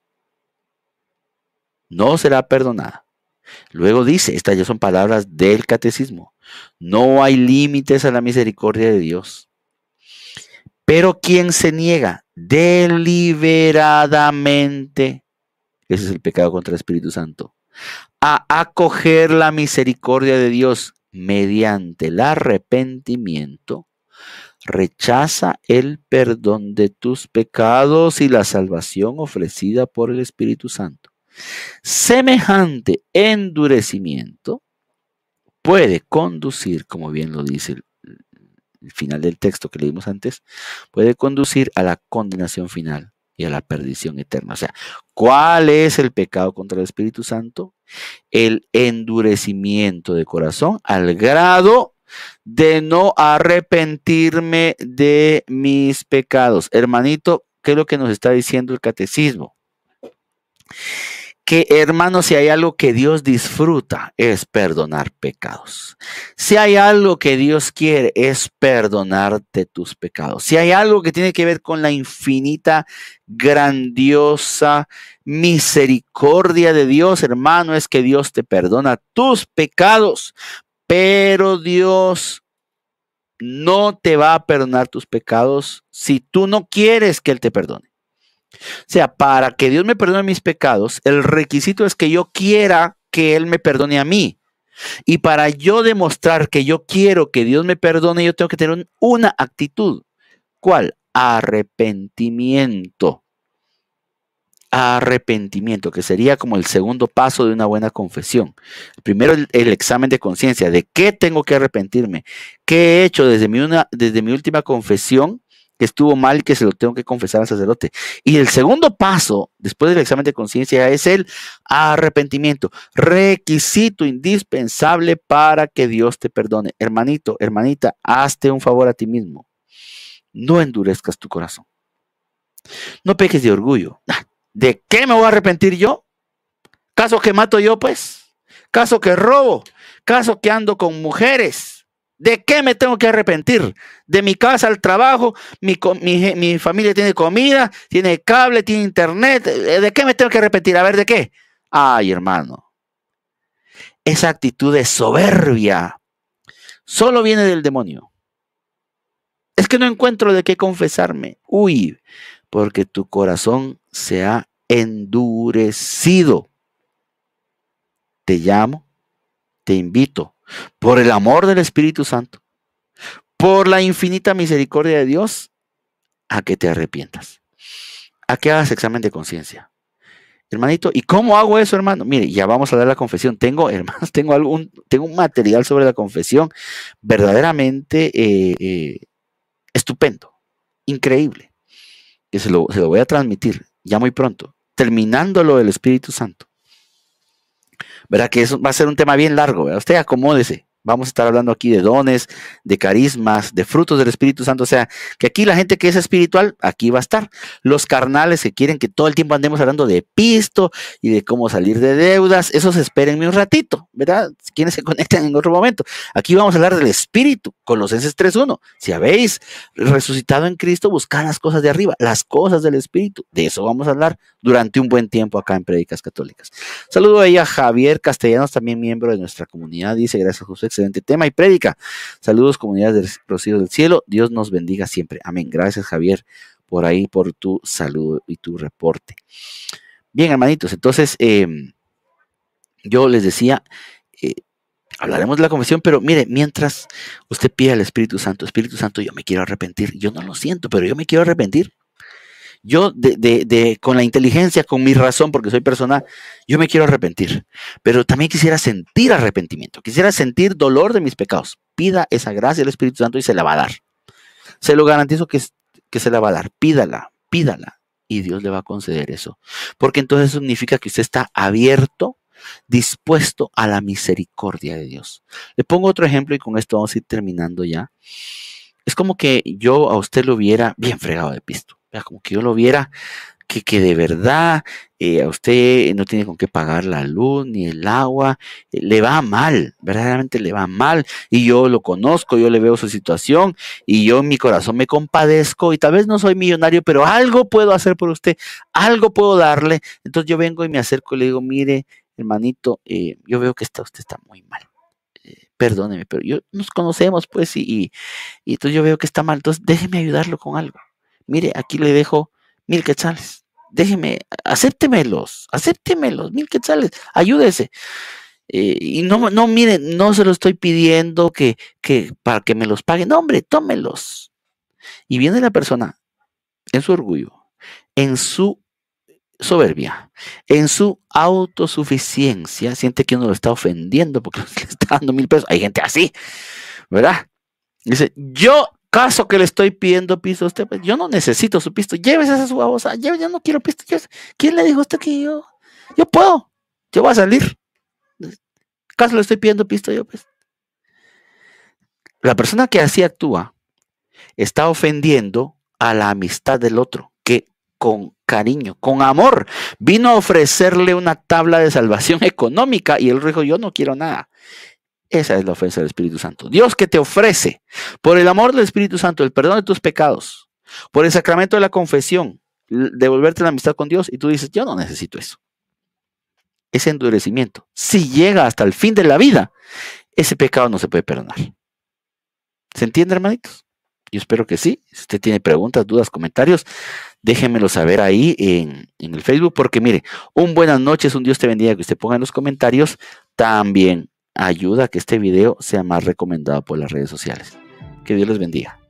Speaker 1: no será perdonada. Luego dice, estas ya son palabras del catecismo, no hay límites a la misericordia de Dios. Pero quien se niega deliberadamente, ese es el pecado contra el Espíritu Santo, a acoger la misericordia de Dios mediante el arrepentimiento, rechaza el perdón de tus pecados y la salvación ofrecida por el Espíritu Santo. Semejante endurecimiento puede conducir, como bien lo dice el final del texto que leímos antes, puede conducir a la condenación final y a la perdición eterna. O sea, ¿cuál es el pecado contra el Espíritu Santo? El endurecimiento de corazón al grado de no arrepentirme de mis pecados. Hermanito, ¿qué es lo que nos está diciendo el catecismo? Que, hermano, si hay algo que Dios disfruta es perdonar pecados. Si hay algo que Dios quiere es perdonarte tus pecados. Si hay algo que tiene que ver con la infinita, grandiosa misericordia de Dios, hermano, es que Dios te perdona tus pecados. Pero Dios no te va a perdonar tus pecados si tú no quieres que Él te perdone. O sea, para que Dios me perdone mis pecados, el requisito es que yo quiera que Él me perdone a mí. Y para yo demostrar que yo quiero que Dios me perdone, yo tengo que tener una actitud. ¿Cuál? Arrepentimiento. Arrepentimiento, que sería como el segundo paso de una buena confesión. Primero el examen de conciencia, de qué tengo que arrepentirme, qué he hecho desde mi última confesión que estuvo mal y que se lo tengo que confesar al sacerdote. Y el segundo paso, después del examen de conciencia, es el arrepentimiento, requisito indispensable para que Dios te perdone. Hermanito, hermanita, hazte un favor a ti mismo. No endurezcas tu corazón. No peques de orgullo. ¿De qué me voy a arrepentir yo? ¿Caso que mato yo, pues? ¿Caso que robo? ¿Caso que ando con mujeres? ¿De qué me tengo que arrepentir? ¿De mi casa al trabajo? ¿Mi familia tiene comida? ¿Tiene cable? ¿Tiene internet? ¿De qué me tengo que arrepentir? A ver, ¿de qué? Ay, hermano. Esa actitud de soberbia solo viene del demonio. Es que no encuentro de qué confesarme. Uy, porque tu corazón se ha endurecido. Te llamo, te invito, por el amor del Espíritu Santo, por la infinita misericordia de Dios, a que te arrepientas, a que hagas examen de conciencia. Hermanito, ¿y cómo hago eso, hermano? Mire, ya vamos a dar la confesión. Hermanos, tengo un material sobre la confesión verdaderamente estupendo, increíble, que se lo voy a transmitir ya muy pronto, terminándolo del Espíritu Santo. ¿Verdad? Que eso va a ser un tema bien largo, ¿verdad? Usted acomódese. Vamos a estar hablando aquí de dones, de carismas, de frutos del Espíritu Santo. O sea, que aquí la gente que es espiritual, aquí va a estar. Los carnales que quieren que todo el tiempo andemos hablando de pisto y de cómo salir de deudas, esos espérenme un ratito, ¿verdad? Quienes se conectan en otro momento. Aquí vamos a hablar del Espíritu, Colosenses 3:1. Si habéis resucitado en Cristo, buscad las cosas de arriba, las cosas del Espíritu. De eso vamos a hablar durante un buen tiempo acá en Prédicas Católicas. Saludo ahí a Javier Castellanos, también miembro de nuestra comunidad. Dice, gracias José, excelente tema y prédica. Saludos, comunidad de Rocío del Cielo. Dios nos bendiga siempre. Amén. Gracias, Javier, por ahí, por tu saludo y tu reporte. Bien, hermanitos, entonces yo les decía, hablaremos de la confesión, pero mire, mientras usted pide al Espíritu Santo, yo me quiero arrepentir. Yo no lo siento, pero yo me quiero arrepentir. Yo, con la inteligencia, con mi razón, porque soy persona, yo me quiero arrepentir. Pero también quisiera sentir arrepentimiento, quisiera sentir dolor de mis pecados. Pida esa gracia del Espíritu Santo y se la va a dar. Se lo garantizo que se la va a dar. Pídala, pídala. Y Dios le va a conceder eso. Porque entonces eso significa que usted está abierto, dispuesto a la misericordia de Dios. Le pongo otro ejemplo y con esto vamos a ir terminando ya. Es como que yo a usted lo viera bien fregado de pisto. Como que yo lo viera que de verdad a usted no tiene con qué pagar la luz ni el agua, le va mal, verdaderamente le va mal, y yo lo conozco, yo le veo su situación, y yo en mi corazón me compadezco, y tal vez no soy millonario, pero algo puedo hacer por usted, algo puedo darle. Entonces yo vengo y me acerco y le digo, mire, hermanito, yo veo que usted está muy mal. Perdóneme, pero nos conocemos, pues, y entonces yo veo que está mal, entonces déjeme ayudarlo con algo. Mire, aquí le dejo 1,000 quetzales. Déjeme acéptemelos, 1,000 quetzales, ayúdese. Y no, mire, no se lo estoy pidiendo que para que me los pague. No, hombre, tómelos. Y viene la persona en su orgullo, en su soberbia, en su autosuficiencia, siente que uno lo está ofendiendo porque le está dando 1,000 pesos. Hay gente así, ¿verdad? Dice, yo, caso que le estoy pidiendo pisto a usted, pues yo no necesito su pisto, llévese a su babosa, yo no quiero pisto. ¿Quién le dijo a usted que yo puedo? Yo voy a salir. ¿Caso le estoy pidiendo pisto yo? Pues la persona que así actúa está ofendiendo a la amistad del otro, que con cariño, con amor, vino a ofrecerle una tabla de salvación económica y él dijo, yo no quiero nada. Esa es la ofensa del Espíritu Santo. Dios que te ofrece, por el amor del Espíritu Santo, el perdón de tus pecados, por el sacramento de la confesión, devolverte la amistad con Dios, y tú dices, yo no necesito eso. Ese endurecimiento, si llega hasta el fin de la vida, ese pecado no se puede perdonar. ¿Se entiende, hermanitos? Yo espero que sí. Si usted tiene preguntas, dudas, comentarios, déjenmelo saber ahí en el Facebook, porque mire, un buenas noches, un Dios te bendiga, que usted ponga en los comentarios, también ayuda a que este video sea más recomendado por las redes sociales. Que Dios les bendiga.